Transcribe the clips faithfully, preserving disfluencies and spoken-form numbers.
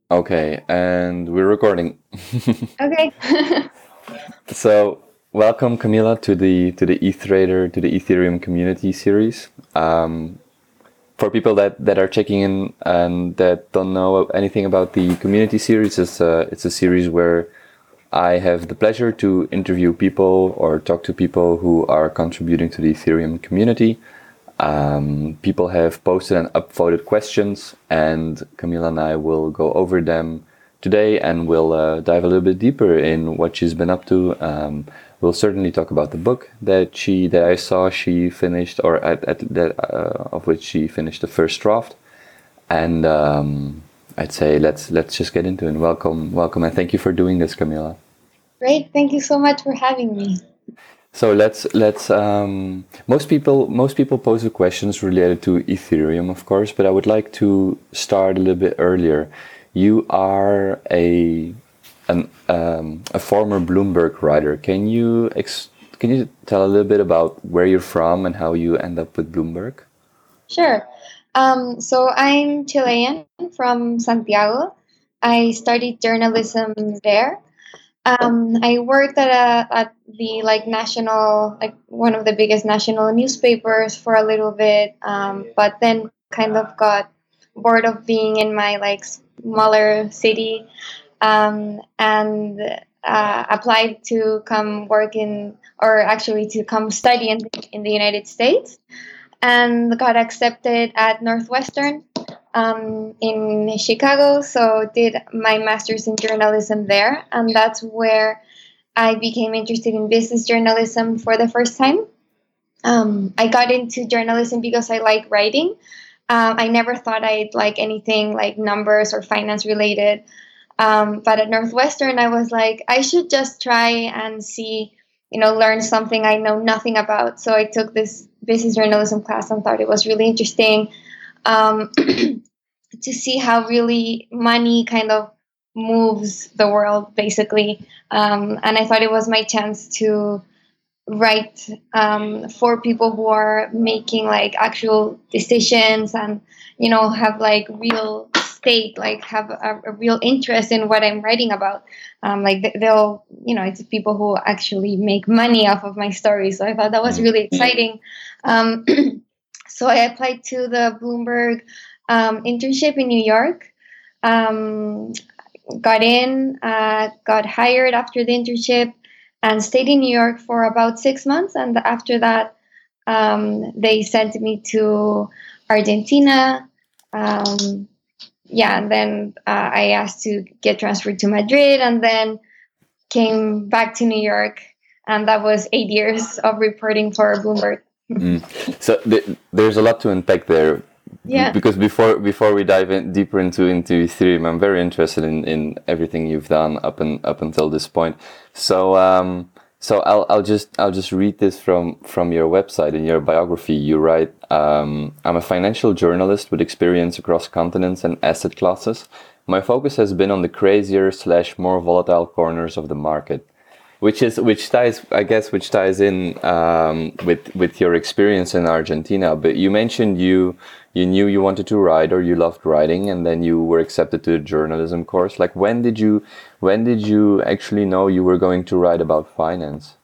Okay, and we're recording. Okay. So, welcome Camila to the to the ETHrader to the Ethereum community series. Um, for people that, that are checking in and that don't know anything about the community series, it's a, it's a series where I have the pleasure to interview people or talk to people who are contributing to the Ethereum community. Um, people have posted and upvoted questions, and Camila and I will go over them today, and we'll uh, dive a little bit deeper in what she's been up to. Um, we'll certainly talk about the book that she that I saw she finished, or at, at that uh, of which she finished the first draft. And um, I'd say let's let's just get into it. Welcome, welcome, and thank you for doing this, Camila. Great. Thank you so much for having me. So let's let's um, most people most people pose the questions related to Ethereum, of course, but I would like to start a little bit earlier. You are a an um, a former Bloomberg writer. Can you ex- can you tell a little bit about where you're from and how you end up with Bloomberg? Sure. Um, so I'm Chilean from Santiago. I studied journalism there. Um, I worked at a at the like national like one of the biggest national newspapers for a little bit, um, but then kind of got bored of being in my like smaller city, um, and uh, applied to come work in or actually to come study in in the United States, and got accepted at Northwestern um, in Chicago. So did my master's in journalism there, and that's where I became interested in business journalism for the first time. Um, I got into journalism because I like writing. Um, I never thought I'd like anything like numbers or finance related. Um, but at Northwestern, I was like, I should just try and see, you know, learn something I know nothing about. So I took this business journalism class and thought it was really interesting, um, to see how really money kind of moves the world, basically. Um, and I thought it was my chance to write um, for people who are making like actual decisions and you know have like real stake, like have a, a real interest in what I'm writing about. Um, like th- they'll you know it's people who actually make money off of my stories, so I thought that was Mm. really exciting. um, so I applied to the Bloomberg um, internship in New York. um, Got in, uh, got hired after the internship, and stayed in New York for about six months. And after that, um, they sent me to Argentina. Um, yeah, and then uh, I asked to get transferred to Madrid, and then came back to New York. And that was eight years of reporting for Bloomberg. Mm. So th- there's a lot to unpack there. B- Yeah. because before before we dive in deeper into into Ethereum, I'm very interested in, in everything you've done up and up until this point. So um, so I'll I'll just I'll just read this from from your website. In your biography, you write, um, "I'm a financial journalist with experience across continents and asset classes. My focus has been on the crazier slash more volatile corners of the market." Which is which ties, I guess, which ties in um, with with your experience in Argentina. But you mentioned you you knew you wanted to write or you loved writing, and then you were accepted to the journalism course. Like when did you when did you actually know you were going to write about finance?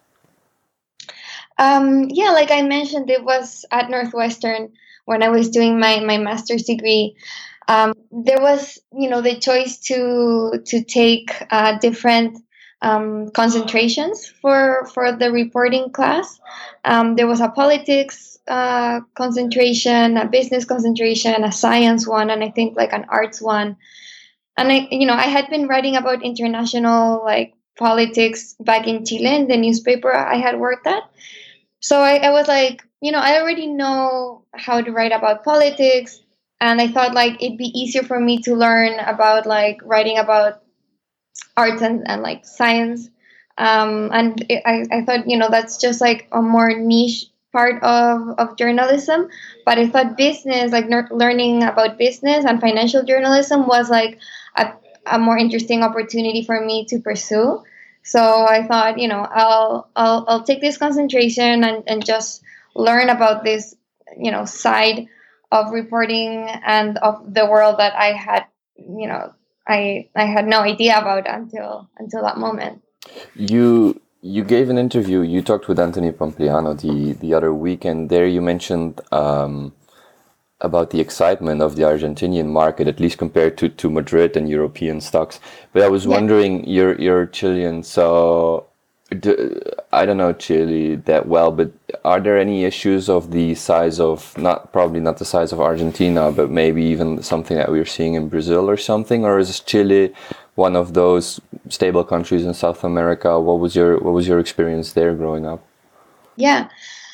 Um, yeah, like I mentioned, it was at Northwestern when I was doing my, my master's degree. Um, there was, you know, the choice to to take uh, different um, concentrations for for the reporting class. Um, there was a politics uh, concentration, a business concentration, a science one, and I think like an arts one. And I, you know, I had been writing about international like politics back in Chile in the newspaper I had worked at. So I, I was like, you know, I already know how to write about politics. And I thought like it'd be easier for me to learn about like writing about arts and, and like science. Um, and it, I, I thought, you know, that's just like a more niche part of, of journalism. But I thought business, like ner- learning about business and financial journalism was like a, a more interesting opportunity for me to pursue. So I thought, you know, I'll I'll, I'll take this concentration and, and just learn about this, you know, side of reporting and of the world that I had, you know, I I had no idea about until until that moment. You you gave an interview. You talked with Anthony Pompliano the the other week, and there you mentioned um, about the excitement of the Argentinian market, at least compared to, to Madrid and European stocks. But I was Yeah. wondering, you're you're Chilean, so do, I don't know Chile that well, but are there any issues of the size of, not probably not the size of Argentina, but maybe even something that we're seeing in Brazil or something? Or is Chile one of those stable countries in South America? What was your what was your experience there growing up? Yeah.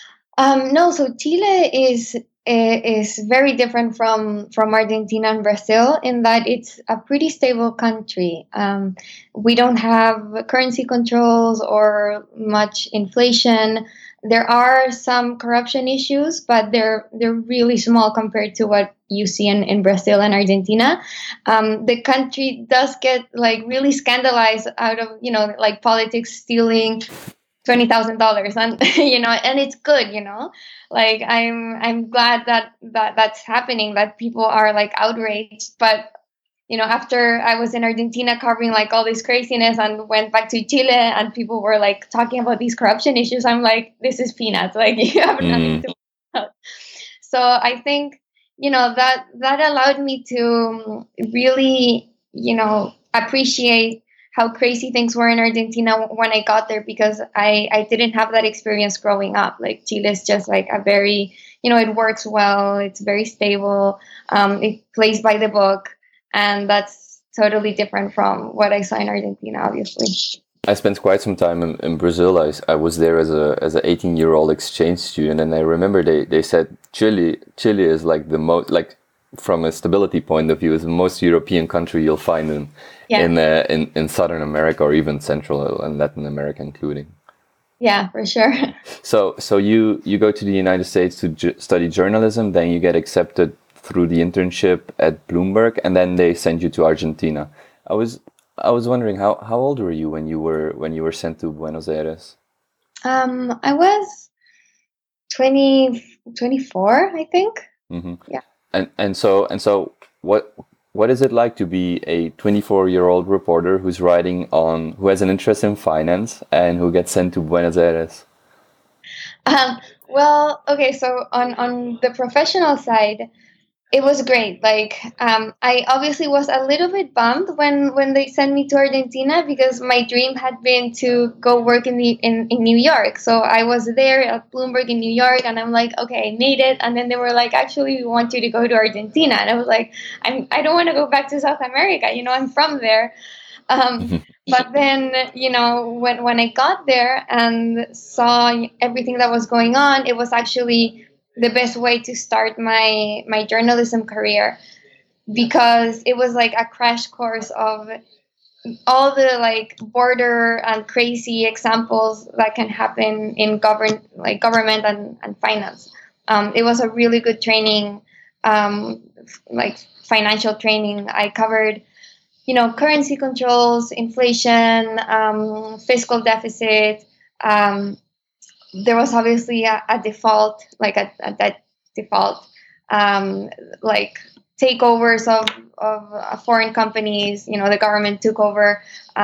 Um, no, so Chile is eh, is very different from from Argentina and Brazil in that it's a pretty stable country. Um, we don't have currency controls or much inflation. There are some corruption issues, but they're they're really small compared to what you see in, in Brazil and Argentina. Um, the country does get like really scandalized out of, you know, like politics, stealing twenty thousand dollars, and you know, and it's good, you know, like i'm i'm glad that that that's happening, that people are like outraged. But you know, after I was in Argentina covering like all this craziness and went back to Chile and people were like talking about these corruption issues, I'm like, this is peanuts, like you have nothing Mm, to about. So I think, you know, that that allowed me to really, you know, appreciate how crazy things were in Argentina when I got there, because I, I didn't have that experience growing up. Like Chile is just like a very, you know, it works well, it's very stable, um, it plays by the book, and that's totally different from what I saw in Argentina, obviously. I spent quite some time in, in Brazil. I, I was there as a as an eighteen year old exchange student, and I remember they, they said Chile Chile is like the most, like from a stability point of view, is the most European country you'll find in Yeah, in uh, in in Southern America, or even Central and Latin America, including. yeah, for sure. So so you you go to the United States to ju- study journalism, then you get accepted through the internship at Bloomberg, and then they send you to Argentina. I was I was wondering, how how old were you when you were when you were sent to Buenos Aires? Um, I was twenty twenty four, I think. Hmm. Yeah. And and so and so what what is it like to be a twenty-four year old reporter who's writing on, who has an interest in finance and who gets sent to Buenos Aires? Um, well, okay, so on on the professional side, it was great. Like, um, I obviously was a little bit bummed when when they sent me to Argentina, because my dream had been to go work in the in, in New York. So I was there at Bloomberg in New York, and I'm like, okay, I made it. And then they were like, actually, we want you to go to Argentina, and I was like, I'm I don't want to go back to South America. You know, I'm from there. Um, but then, you know, when when I got there and saw everything that was going on, it was actually the best way to start my my journalism career, because it was like a crash course of all the like border and crazy examples that can happen in govern like government and, and finance. Um, it was a really good training, um, like financial training. I covered, you know, currency controls, inflation, um, fiscal deficit. Um, there was obviously a, a default, like a, a that default, um, like takeovers of of uh, foreign companies. You know, the government took over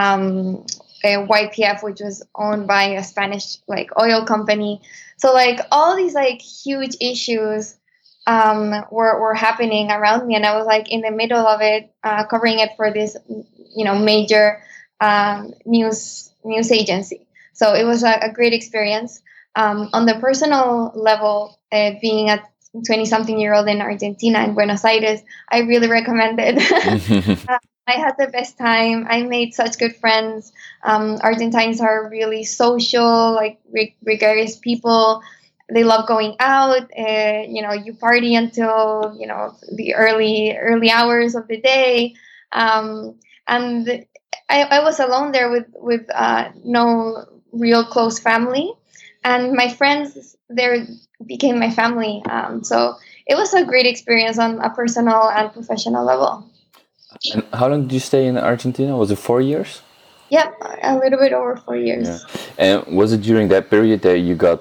um, a Y P F, which was owned by a Spanish like oil company. So like all these like huge issues um, were were happening around me, and I was like in the middle of it, uh, covering it for this, you know, major um, news news agency. So it was a, a great experience. Um, on the personal level, uh, being a twenty something year old in Argentina, in Buenos Aires, I really recommend it. Uh, I had the best time. I made such good friends. Um, Argentines are really social, like re- gregarious people. They love going out. Uh, you know, you party until, you know, the early early hours of the day. Um, and I, I was alone there with with uh, no real close family, and my friends there became my family. Um, so it was a great experience on a personal and professional level. And how long did you stay in Argentina? Was it four years? Yep, a little bit over four Yeah. years. And was it during that period that you got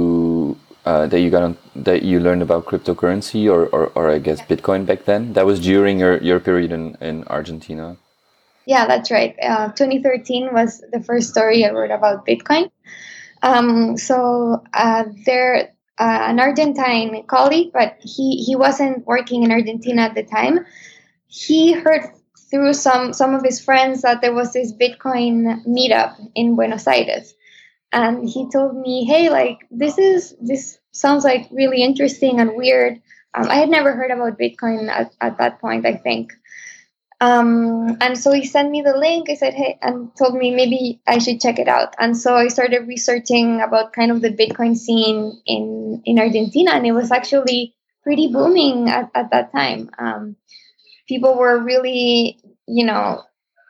to uh, that you got on, that you learned about cryptocurrency, or, or, or I guess Bitcoin back then? That was during your, your period in, in Argentina. Yeah, that's right. Uh, twenty thirteen was the first story I wrote about Bitcoin. Um, so uh, there, uh, an Argentine colleague, but he he wasn't working in Argentina at the time. He heard through some some of his friends that there was this Bitcoin meetup in Buenos Aires, and he told me, "Hey, like this is this sounds like really interesting and weird." Um, I had never heard about Bitcoin at, at that point, I think. Um, and so he sent me the link. I said, hey, and told me maybe I should check it out. And so I started researching about kind of the Bitcoin scene in, in Argentina. And it was actually pretty booming at, at that time. Um, people were really, you know,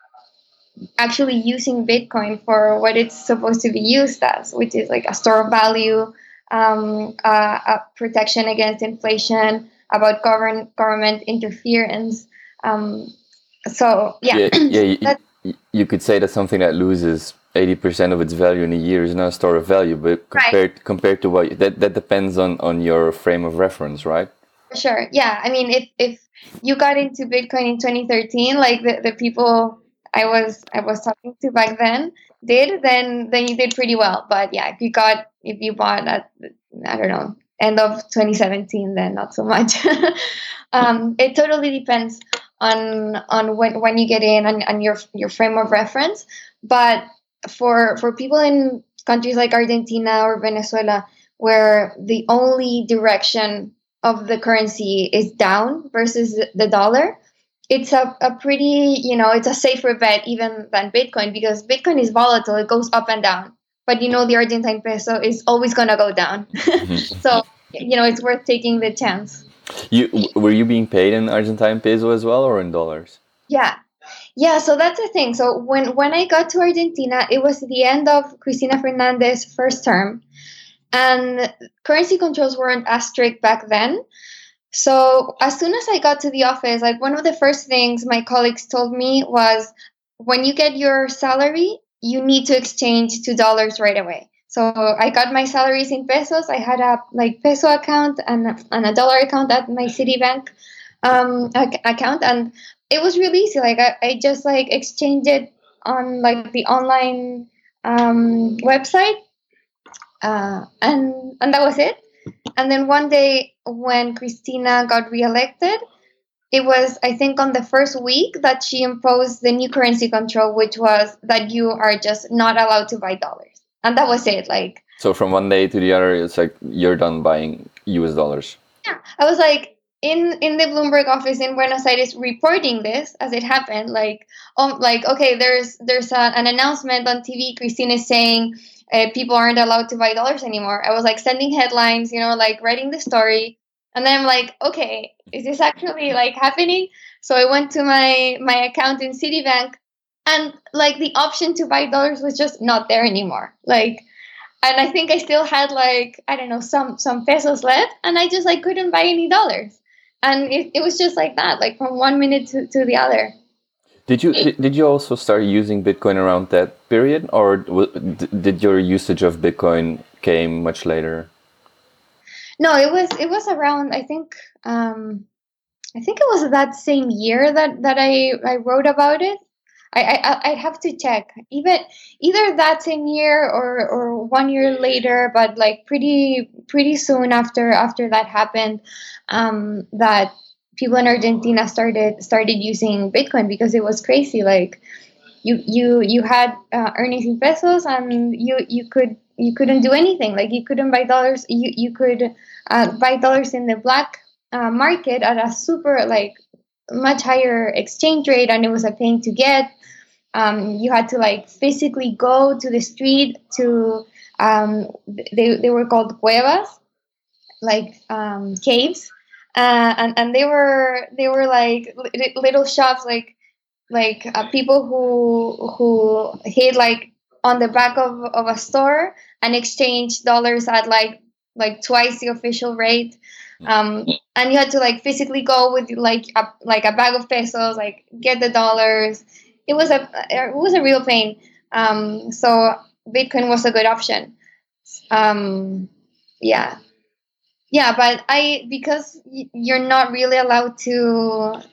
actually using Bitcoin for what it's supposed to be used as, which is like a store of value, um, uh, a protection against inflation, about govern, government interference. Um, so yeah, Yeah, yeah. You, that's you could say that something that loses eighty percent of its value in a year is not a store of value, but right. compared compared to what that that depends on on your frame of reference, right? For sure. Yeah. I mean, if if you got into Bitcoin in twenty thirteen, like the, the people I was I was talking to back then did, then then you did pretty well. But yeah, if you got if you bought at I don't know end of twenty seventeen, then not so much. um, it totally depends on on when when you get in and, and your your frame of reference. But for for people in countries like Argentina or Venezuela, where the only direction of the currency is down versus the dollar, it's a, a pretty, you know, it's a safer bet even than Bitcoin, because Bitcoin is volatile, it goes up and down. But you know, the Argentine peso is always going to go down. So, you know, it's worth taking the chance. You were you being paid in Argentine peso as well or in dollars? Yeah. Yeah, so that's the thing. So when when I got to Argentina, it was the end of Cristina Fernandez's first term, and currency controls weren't as strict back then. So as soon as I got to the office, like one of the first things my colleagues told me was, when you get your salary, you need to exchange to dollars right away. So I got my salaries in pesos. I had a like peso account and, and a dollar account at my Citibank um, ac- account, and it was really easy. Like I, I just like exchanged it on like the online um, website, uh, and and that was it. And then one day when Christina got reelected, it was, I think, on the first week that she imposed the new currency control, which was that you are just not allowed to buy dollars. And that was it. Like, So from one day to the other, it's like you're done buying U S dollars. yeah, I was like in in the Bloomberg office in Buenos Aires reporting this as it happened. Like, um, like okay, there's there's a, an announcement on T V. Christine is saying uh, people aren't allowed to buy dollars anymore. I was like sending headlines, you know, like writing the story, and then I'm like, okay, is this actually like happening? So I went to my my account in Citibank, and like the option to buy dollars was just not there anymore. Like, and I think I still had like I don't know some some pesos left, and I just like couldn't buy any dollars, and it, it was just like that, like from one minute to, to the other. Did you did, did you also start using Bitcoin around that period, or w- d- did your usage of Bitcoin came much later? No, it was it was around I think um, I think it was that same year that that I I wrote about it. I, I I'd have to check even either that same year or or one year later, but like pretty pretty soon after after that happened, um, that people in Argentina started started using Bitcoin because it was crazy. Like you you you had uh, earnings in pesos, and you you could you couldn't do anything. Like you couldn't buy dollars. You you could uh, buy dollars in the black uh, market at a super like much higher exchange rate, and it was a pain to get. Um, you had to like physically go to the street to um, they, they were called cuevas, like um, caves, uh, and and they were they were like li- little shops, like like uh, people who who hid like on the back of, of a store and exchange dollars at like like twice the official rate. Um, and you had to like physically go with like a, like a bag of pesos, like get the dollars. It was a it was a real pain. Um, so Bitcoin was a good option. Um, yeah, yeah, but I because y- you're not really allowed to.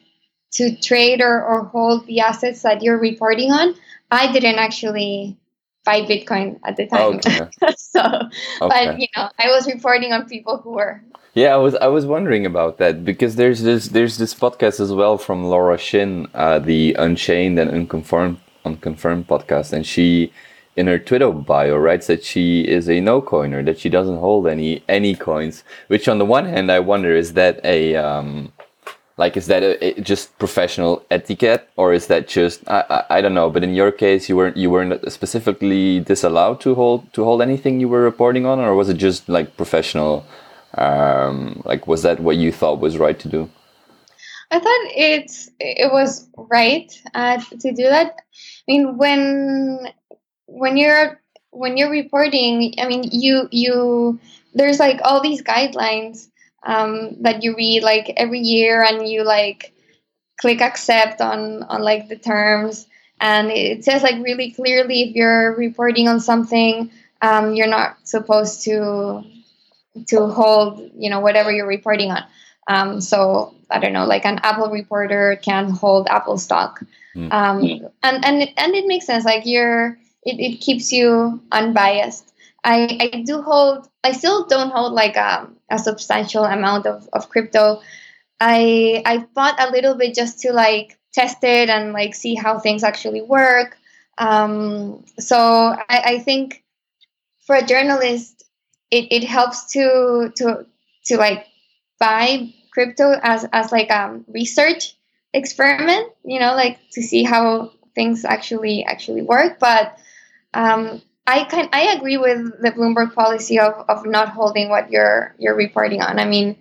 to trade or, or hold the assets that you're reporting on. I didn't actually buy Bitcoin at the time. Okay. So, Okay. but you know, I was reporting on people who were. Yeah, I was I was wondering about that because there's this there's this podcast as well from Laura Shin, uh, the Unchained and Unconfirmed Unconfirmed podcast, and she, in her Twitter bio, writes that she is a no coiner, that she doesn't hold any any coins. Which on the one hand, I wonder, is that a um, like is that a, a just professional etiquette, or is that just I, I I don't know. But in your case, you weren't you weren't specifically disallowed to hold to hold anything you were reporting on, or was it just like professional? Um, like, was that what you thought was right to do? I thought it's it was right uh, to do that. I mean, when when you're when you're reporting, I mean, you you there's like all these guidelines um, that you read like every year, and you like click accept on on like the terms, and it says like really clearly if you're reporting on something, um, you're not supposed to to hold, you know, whatever you're reporting on. Um, so I don't know, like an Apple reporter can hold Apple stock, Mm. um, and and it, and it makes sense. Like you're, it, it keeps you unbiased. I, I do hold. I still don't hold like a, a substantial amount of, of crypto. I I bought a little bit just to like test it and like see how things actually work. Um, so I, I think for a journalist, it, it helps to to to like buy crypto as as like a research experiment, you know, like to see how things actually actually work. But um, I can I agree with the Bloomberg policy of, of not holding what you're you're reporting on. I mean,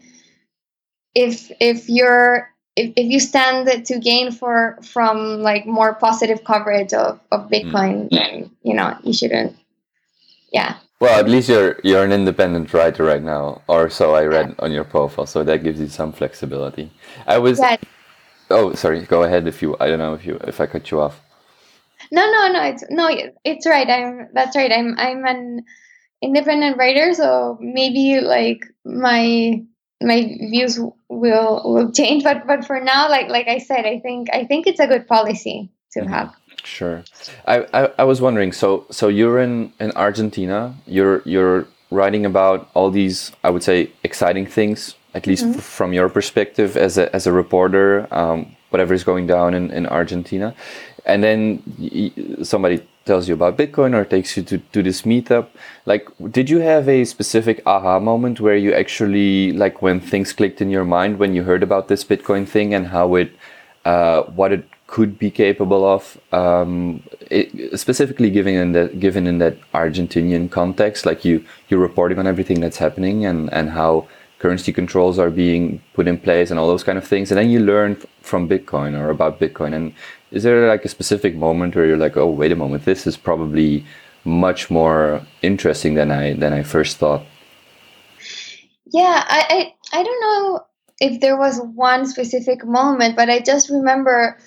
if if you're if, if you stand to gain for from like more positive coverage of, of Bitcoin, then you know you shouldn't. Yeah. Well, at least you're you're an independent writer right now, or so I read on your profile. So that gives you some flexibility. I was. Yeah. Oh, sorry. Go ahead if you. I don't know if you if I cut you off. No, no, no. It's no. It's right. I'm. That's right. I'm. I'm an independent writer, so maybe like my my views will will change. But but for now, like like I said, I think I think it's a good policy to Mm-hmm. have. Sure. I, I, I was wondering, so so you're in, in Argentina, you're you're writing about all these, I would say, exciting things, at least Mm-hmm. f- from your perspective as a as a reporter, um, whatever is going down in, in Argentina. And then y- y- somebody tells you about Bitcoin or takes you to, to this meetup. Like, did you have a specific aha moment where you actually, like when things clicked in your mind when you heard about this Bitcoin thing and how it, uh, what it could be capable of, um, it, specifically given in that given in that Argentinian context, like you you're reporting on everything that's happening and and how currency controls are being put in place and all those kind of things, and then you learn f- from Bitcoin or about Bitcoin. And is there like a specific moment where you're like, oh, wait a moment, this is probably much more interesting than I than I first thought? Yeah, I, I I don't know if there was one specific moment, but I just remember,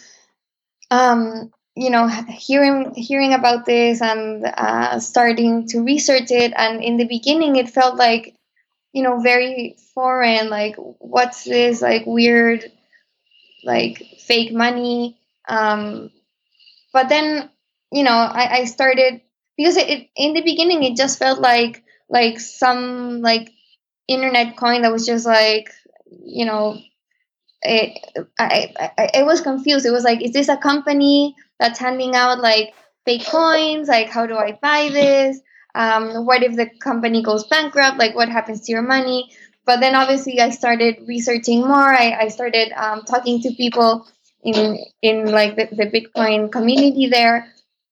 um, you know, hearing hearing about this and uh, starting to research it. And in the beginning, it felt like, you know, very foreign. Like, what's this like weird, like fake money? Um, but then, you know, I, I started because it, it in the beginning it just felt like like some like internet coin that was just like, you know, it, I, I I was confused. It was like, is this a company that's handing out like fake coins? Like, how do I buy this? Um, what if the company goes bankrupt? Like, what happens to your money? But then obviously I started researching more. I, I started um, talking to people in in like the, the Bitcoin community there.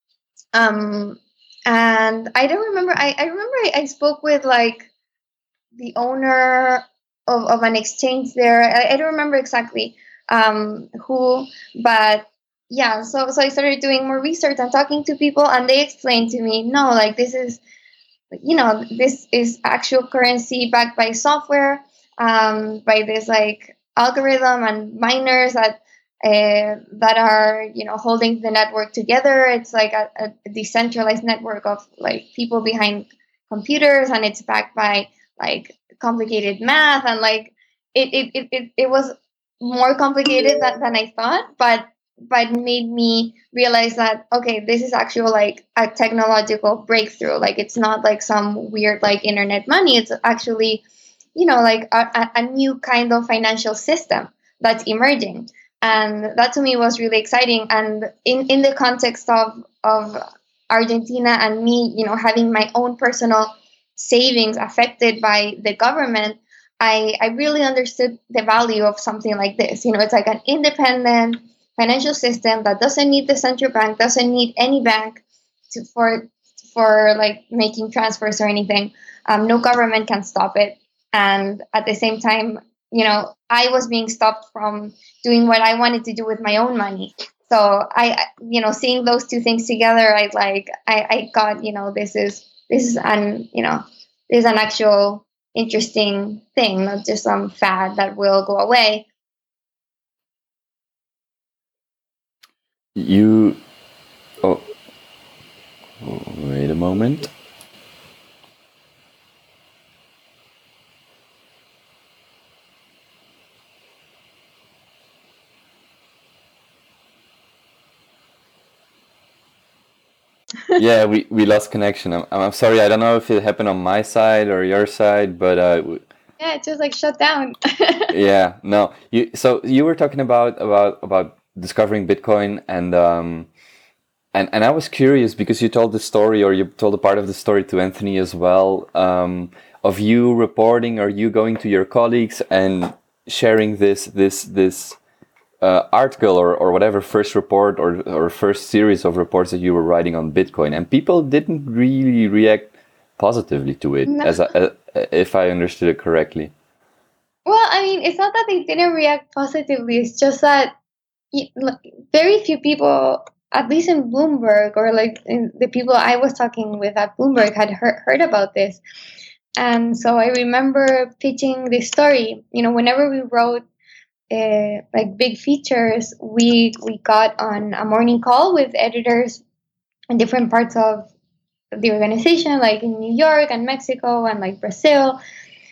Um, and I don't remember. I, I remember I, I spoke with like the owner of, of an exchange there. I, I don't remember exactly um, who, but yeah. So so I started doing more research and talking to people, and they explained to me, no, like this is, you know, this is actual currency backed by software, um, by this like algorithm and miners that. Uh, that are, you know, holding the network together. It's like a, a decentralized network of like people behind computers, and it's backed by like complicated math, and like it it, it, it, it was more complicated than, than I thought, but but made me realize that okay, this is actual like a technological breakthrough. Like it's not like some weird like internet money. It's actually, you know, like a, a a new kind of financial system that's emerging, and that to me was really exciting. And in in the context of of Argentina and me, you know, having my own personal savings affected by the government, I, I really understood the value of something like this. You know, it's like an independent financial system that doesn't need the central bank, doesn't need any bank to, for for like making transfers or anything. Um, no government can stop it. And at the same time, you know, I was being stopped from doing what I wanted to do with my own money. So I, I- you know, seeing those two things together, I like, I, I got, you know, this is this is an, you know, this is an actual interesting thing, not just some fad that will go away. You. Oh, wait a moment. Yeah, we, we lost connection. I'm, I'm sorry. I don't know if it happened on my side or your side, but uh, w- Yeah, it just like shut down. yeah, no. You so you were talking about about about discovering Bitcoin, and um and and I was curious because you told the story, or you told a part of the story to Anthony as well, um, of you reporting or you going to your colleagues and sharing this this this uh, article or, or whatever first report or, or first series of reports that you were writing on Bitcoin, and people didn't really react positively to it, No. as I, uh, if I understood it correctly. Well, I mean, it's not that they didn't react positively. It's just that y- like, very few people, at least in Bloomberg or like in the people I was talking with at Bloomberg, had heard, heard about this. And so I remember pitching this story. You know, whenever we wrote uh, like big features, we we got on a morning call with editors in different parts of the organization, like in New York and Mexico and like Brazil.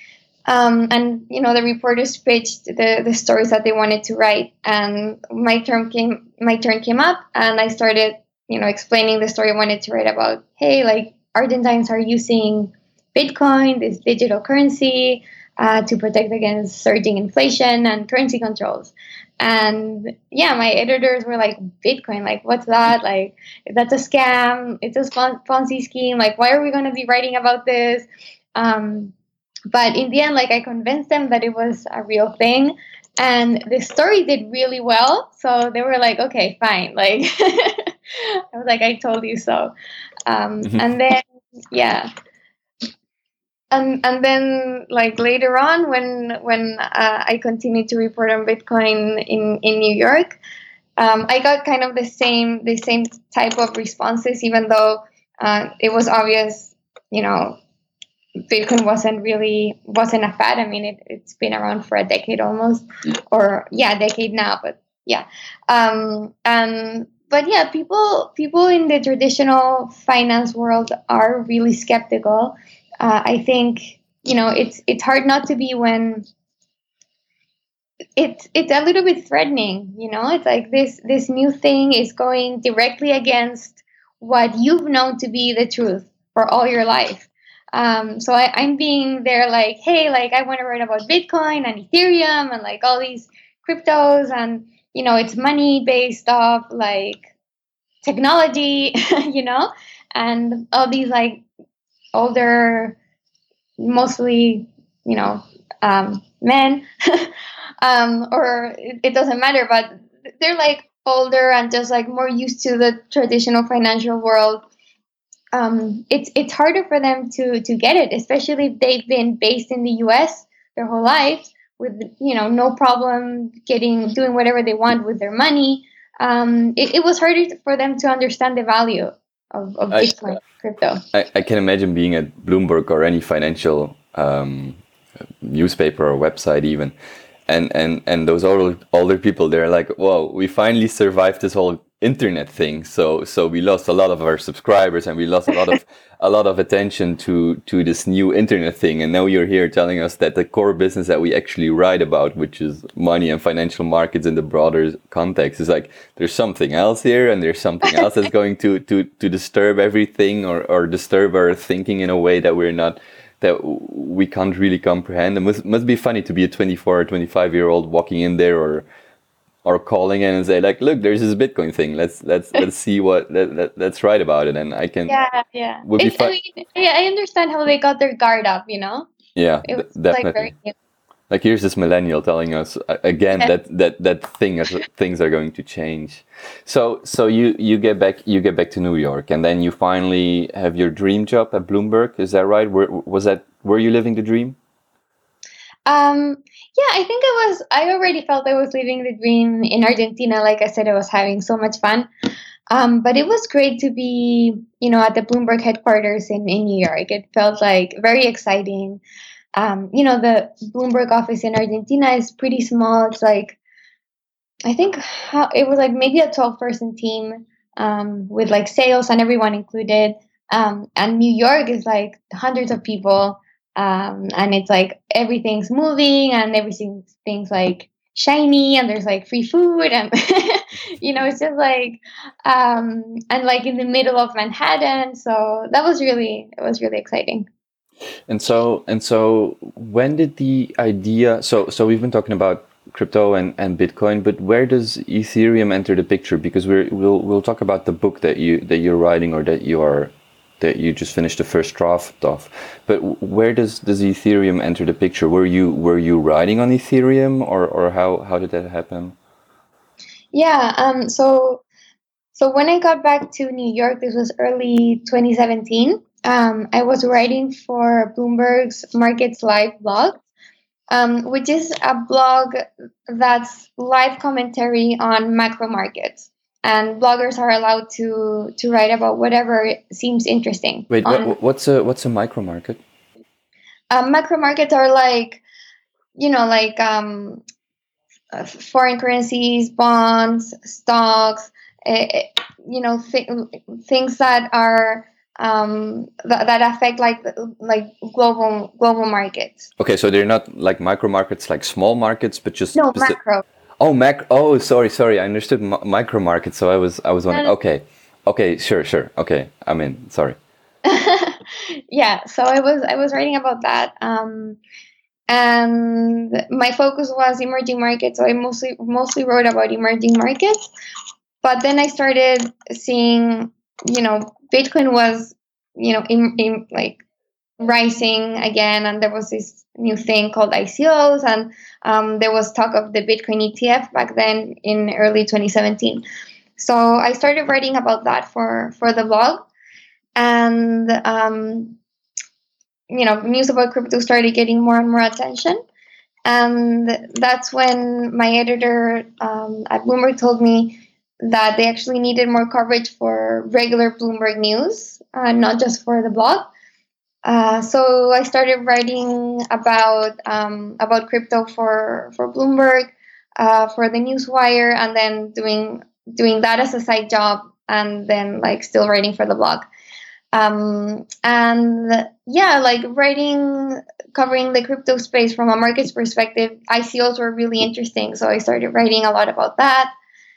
Um, and you know the reporters pitched the, the stories that they wanted to write, and my turn came my turn came up, and I started you know explaining the story I wanted to write about. Hey, like Argentines are using Bitcoin, this digital currency, uh, to protect against surging inflation and currency controls. And yeah, my editors were like, Bitcoin, like what's that? Like that's a scam. It's a Pon- Ponzi scheme. Like why are we going to be writing about this? Um, but in the end, like I convinced them that it was a real thing, and the story did really well. So they were like, okay, fine. Like I was like, I told you so. Um, and then yeah, and and then like later on when when uh, I continued to report on Bitcoin in in New York, um, I got kind of the same the same type of responses, even though uh, it was obvious, you know, Bitcoin wasn't really wasn't a fad. I mean, it, it's been around for a decade almost, or yeah, a decade now. But yeah, um, and but yeah, people people in the traditional finance world are really skeptical. Uh, I think you know it's it's hard not to be when it's it's a little bit threatening. You know, it's like this this new thing is going directly against what you've known to be the truth for all your life. Um, so I, I'm being there like, hey, like I want to write about Bitcoin and Ethereum and like all these cryptos, and you know it's money based off like technology, you know, and all these like older, mostly you know um, men, um, or it, it doesn't matter, but they're like older and just like more used to the traditional financial world. Um, it's it's harder for them to to get it, especially if they've been based in the U S their whole lives with you know no problem getting doing whatever they want with their money. Um, it, it was harder for them to understand the value of, of I, Bitcoin crypto. I I can imagine being at Bloomberg or any financial um, newspaper or website even, and and and those older older people, they're like, whoa, we finally survived this whole internet thing. So so we lost a lot of our subscribers, and we lost a lot of a lot of attention to to this new internet thing. And now you're here telling us that the core business that we actually write about, which is money and financial markets in the broader context, is like there's something else here, and there's something else that's going to to to disturb everything, or or disturb our thinking in a way that we're not that we can't really comprehend. It must must be funny to be a twenty-four or twenty-five year old walking in there, or or calling in and say like, look, there's this Bitcoin thing. Let's let's let's see what let, let, let's write about it. And I can Yeah, yeah. would be It, I fun. mean, yeah, I understand how they got their guard up. You know, Yeah, it d- was like definitely. very new. Like here's this millennial telling us uh, again Yeah. that that that thing is, things are going to change. So so you you get back you get back to New York, and then you finally have your dream job at Bloomberg. Is that right? Were, was that were you living the dream? Um, yeah, I think I was. I already felt I was living the dream in Argentina. Like I said, I was having so much fun. Um, but it was great to be, you know, at the Bloomberg headquarters in, in New York. It felt like very exciting. Um, you know, the Bloomberg office in Argentina is pretty small. It's like, I think how, it was like maybe a twelve person team um, with like sales and everyone included. Um, and New York is like hundreds of people. Um, and it's like everything's moving and everything's things like shiny and there's like free food and you know it's just like um and like in the middle of Manhattan, so that was really it was really exciting. And so and so when did the idea so so we've been talking about crypto and, and Bitcoin, but where does Ethereum enter the picture? Because we're we'll we'll talk about the book that you that you're writing, or that you are that you just finished the first draft of. But where does does Ethereum enter the picture? Were you were you writing on Ethereum, or or how how did that happen? Yeah, um so so when I got back to New York, this was early twenty seventeen. um I was writing for Bloomberg's Markets Live blog, um, which is a blog that's live commentary on macro markets. And bloggers are allowed to to write about whatever seems interesting. Wait, On what what's a what's a micro market? um, macro markets are like you know like um, uh, foreign currencies, bonds, stocks, uh, you know th- things that are um, that, that affect like like global global markets. Okay, so they're not like micro markets, like small markets, but just No, specific. macro. Oh, mac. Oh, sorry, sorry. I understood mi- micro market. So I was, I was wondering. No, Okay, okay, sure, sure. Okay, I'm in. Sorry. yeah, so i was i was writing about that, um, and my focus was emerging markets, so I mostly mostly wrote about emerging markets. But then I started seeing, you know Bitcoin was, you know in, in like rising again, and there was this new thing called I C Os, and um, there was talk of the Bitcoin E T F back then in early twenty seventeen. So I started writing about that for for the blog. And um, you know news about crypto started getting more and more attention. And that's when my editor um, at Bloomberg told me that they actually needed more coverage for regular Bloomberg news, uh, not just for the blog. Uh, so I started writing about um, about crypto for for Bloomberg, uh, for the Newswire, and then doing doing that as a side job, and then like still writing for the blog. Um, and yeah, like writing, covering the crypto space from a markets perspective, I C Os were really interesting. So I started writing a lot about that.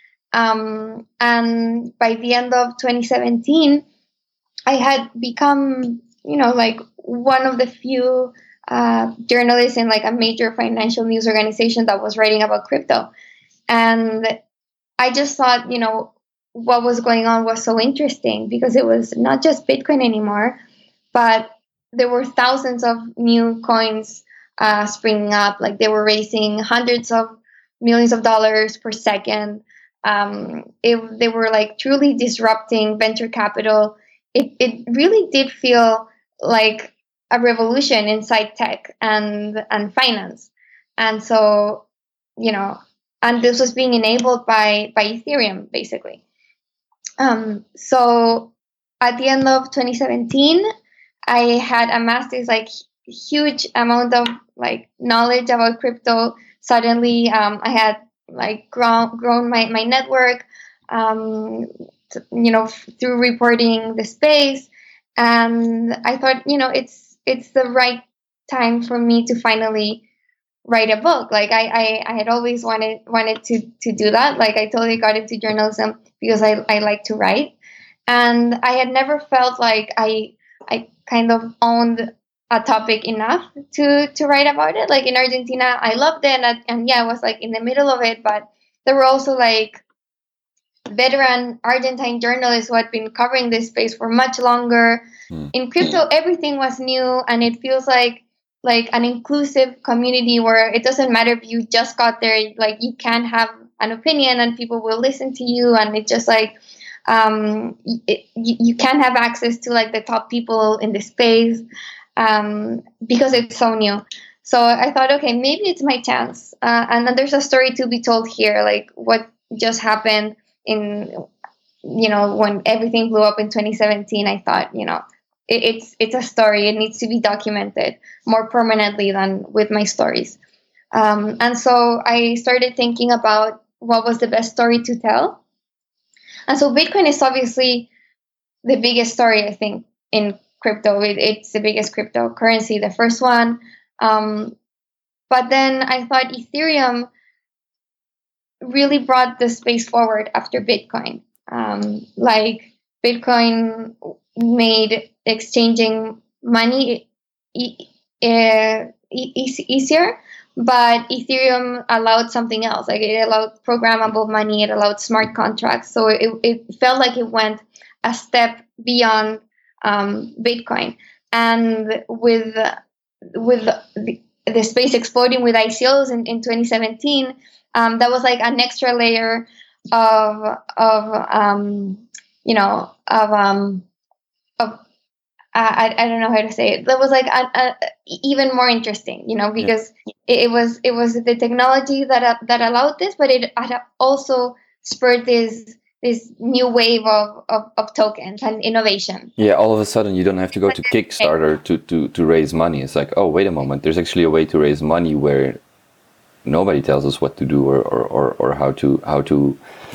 Um, and by the end of twenty seventeen, I had become, you know, like one of the few uh, journalists in like a major financial news organization that was writing about crypto. And I just thought, you know, what was going on was so interesting because it was not just Bitcoin anymore, but there were thousands of new coins uh, springing up. Like they were raising hundreds of millions of dollars per second. Um, it, they were like truly disrupting venture capital. It, it really did feel like a revolution inside tech and and finance. And so, you know, and this was being enabled by by Ethereum, basically. Um, so at the end of twenty seventeen, I had amassed this like huge amount of like knowledge about crypto. Suddenly, um, I had like grown grown my my network. um, t- you know, f- through reporting the space. And I thought, you know, it's it's the right time for me to finally write a book. Like I, I, I had always wanted wanted to to do that. Like I totally got into journalism because I, I like to write. And I had never felt like I I kind of owned a topic enough to to write about it. Like in Argentina, I loved it, and, and yeah, I was like in the middle of it. But there were also like veteran Argentine journalists who had been covering this space for much longer. Mm. In crypto, everything was new, and it feels like like an inclusive community where it doesn't matter if you just got there. Like you can have an opinion, and people will listen to you, and it's just like um, it, you, you can have access to like the top people in the space um, because it's so new. So I thought, okay, maybe it's my chance. Uh, and then there's a story to be told here, like what just happened in, you know, when everything blew up in twenty seventeen. I thought, you know, it, it's it's a story. It needs to be documented more permanently than with my stories. Um, and so I started thinking about what was the best story to tell. And so Bitcoin is obviously the biggest story, I think, in crypto. It, it's the biggest cryptocurrency, the first one. Um, but then I thought Ethereum really brought the space forward after Bitcoin. Um, like Bitcoin made exchanging money e- e- e- easier, but Ethereum allowed something else. Like it allowed programmable money, it allowed smart contracts. So it, it felt like it went a step beyond um, Bitcoin. And with with the, the space exploding with I C Os in, in twenty seventeen, um, that was like an extra layer of of um, you know of um, of I, I don't know how to say it. That was like a, a, even more interesting, you know, because yeah. it, it was it was the technology that uh, that allowed this, but it had also spurred this this new wave of, of, of tokens and innovation. Yeah, all of a sudden you don't have to go to Kickstarter to, to, to raise money. It's like, oh, wait a moment, there's actually a way to raise money where nobody tells us what to do or, or, or, or how to how to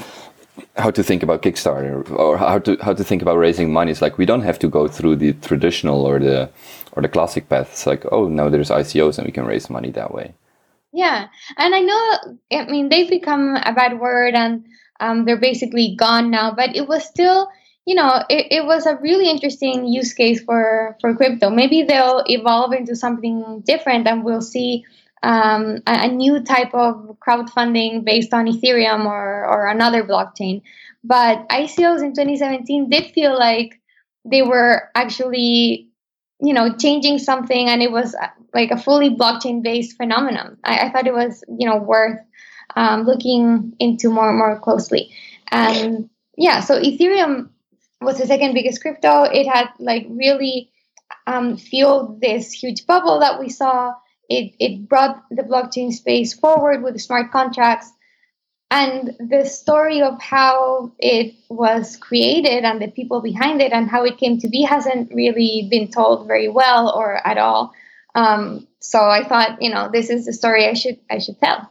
how to think about Kickstarter or how to how to think about raising money. It's like we don't have to go through the traditional or the or the classic path. It's like, oh, now there's I C Os and we can raise money that way. Yeah, and I know, I mean, they've become a bad word and um, they're basically gone now, but it was still, you know, it, it was a really interesting use case for, for crypto. Maybe they'll evolve into something different and we'll see um, a, a new type of crowdfunding based on Ethereum or, or another blockchain. But I C Os in twenty seventeen did feel like they were actually, you know, changing something, and it was like a fully blockchain-based phenomenon. I, I thought it was, you know, worth um, looking into more and more closely. And yeah, so Ethereum was the second biggest crypto. It had like really um, fueled this huge bubble that we saw. It it brought the blockchain space forward with the smart contracts. And the story of how it was created and the people behind it and how it came to be hasn't really been told very well or at all. Um, so I thought, you know, this is the story I should I should tell.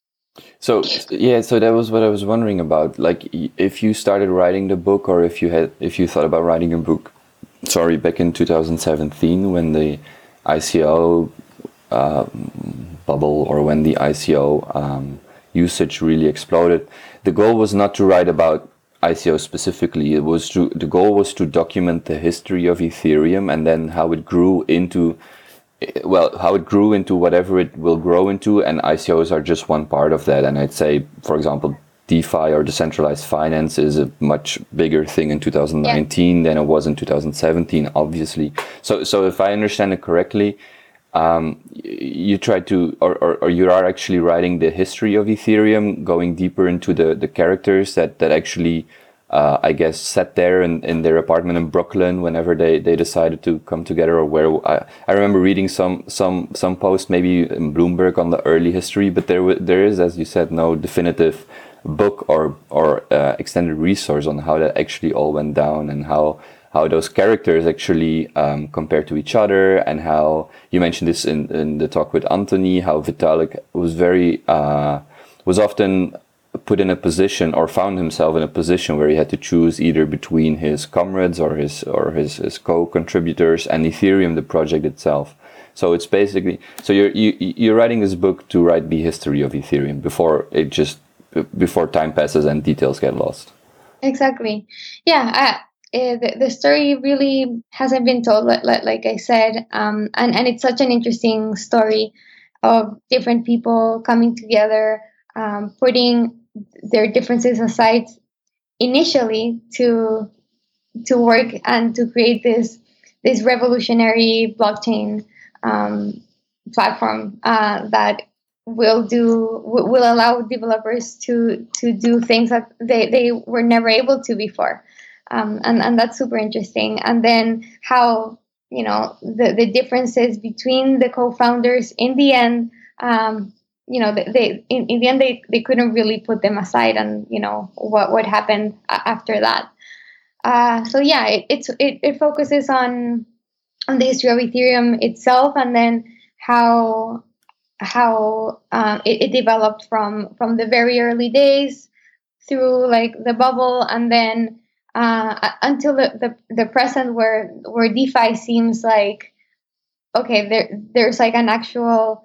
So yeah, so that was what I was wondering about. Like, if you started writing the book, or if you had, if you thought about writing a book, sorry, back in two thousand seventeen when the I C O uh, bubble, or when the I C O um, usage really exploded, the goal was not to write about I C O specifically. It was to the goal was to document the history of Ethereum and then how it grew into. Well, how it grew into whatever it will grow into, and I C Os are just one part of that. And I'd say, for example, DeFi or decentralized finance is a much bigger thing in two thousand nineteen yeah. than it was in two thousand seventeen, obviously. So, so if I understand it correctly, um, you try to, or, or, or you are actually writing the history of Ethereum, going deeper into the, the characters that, that actually, Uh, I guess, sat there in, in their apartment in Brooklyn whenever they, they decided to come together, or where I, I remember reading some some some post maybe in Bloomberg on the early history, but there there is, as you said, no definitive book or or uh, extended resource on how that actually all went down, and how how those characters actually um, compare to each other, and how you mentioned this in, in the talk with Anthony, how Vitalik was very uh, was often put in a position or found himself in a position where he had to choose either between his comrades or his or his, his co-contributors and Ethereum, the project itself. So it's basically, so you're you, you're writing this book to write the history of Ethereum before it just before time passes and details get lost. Exactly. Yeah. I, uh, the, the story really hasn't been told, like, like I said, um, and and it's such an interesting story of different people coming together, um, putting their differences aside initially to to work and to create this this revolutionary blockchain um, platform uh, that will do will allow developers to to do things that they, they were never able to before, um, and and that's super interesting. And then how, you know, the the differences between the co-founders in the end, um, you know, they, they in, in the end they, they couldn't really put them aside, and you know what what happened after that. Uh, so yeah, it, it's it, it focuses on on the history of Ethereum itself, and then how how um, it, it developed from from the very early days through like the bubble, and then uh, until the, the the present, where where DeFi seems like, okay, there there's like an actual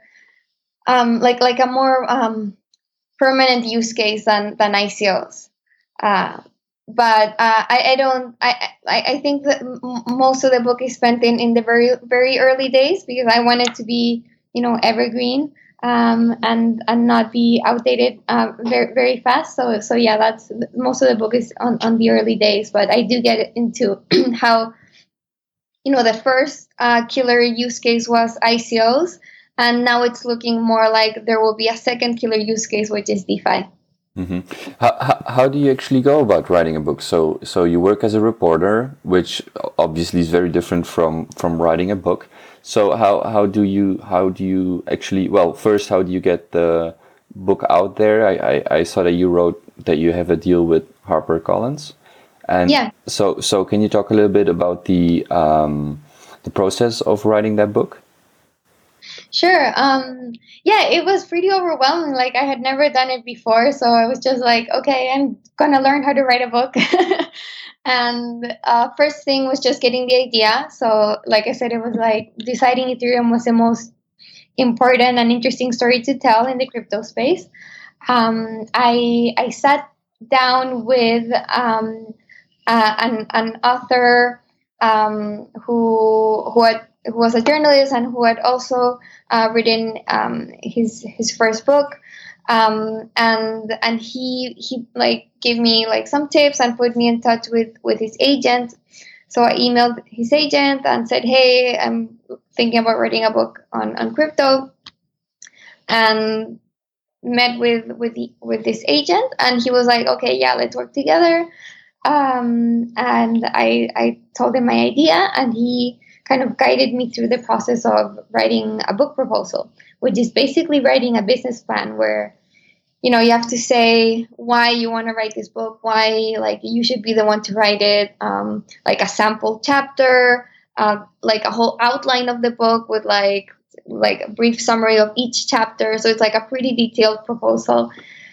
um, like like a more um, permanent use case than than I C Os. Uh, but uh, I, I don't I, I I think that m- most of the book is spent in, in the very very early days, because I want it to be, you know, evergreen, um, and and not be outdated uh, very very fast. So so yeah, that's most of the book is on, on the early days, but I do get into how, you know, the first uh, killer use case was I C Os, and now it's looking more like there will be a second killer use case, which is DeFi. Mm-hmm. How, how how do you actually go about writing a book? So so you work as a reporter, which obviously is very different from from writing a book. So how how do you how do you actually, well, first, how do you get the book out there? I I, I saw that you wrote that you have a deal with HarperCollins, and Yeah. so so can you talk a little bit about the um the process of writing that book? Sure. Um, yeah, it was pretty overwhelming. Like, I had never done it before, so I was just like, okay, I'm gonna learn how to write a book. And uh, first thing was just getting the idea. So, like I said, it was like deciding Ethereum was the most important and interesting story to tell in the crypto space. Um, I I sat down with um, uh, an an author um, who who had who was a journalist and who had also uh, written um, his his first book, um, and and he he like gave me like some tips and put me in touch with with his agent. So I emailed his agent and said, "Hey, I'm thinking about writing a book on on crypto," and met with with the, with this agent, and he was like, "Okay, yeah, let's work together." Um, and I I told him my idea, and he kind of guided me through the process of writing a book proposal, which is basically writing a business plan where, you know, you have to say why you want to write this book, why like you should be the one to write it, um, like a sample chapter, uh, like a whole outline of the book with like like a brief summary of each chapter. So it's like a pretty detailed proposal.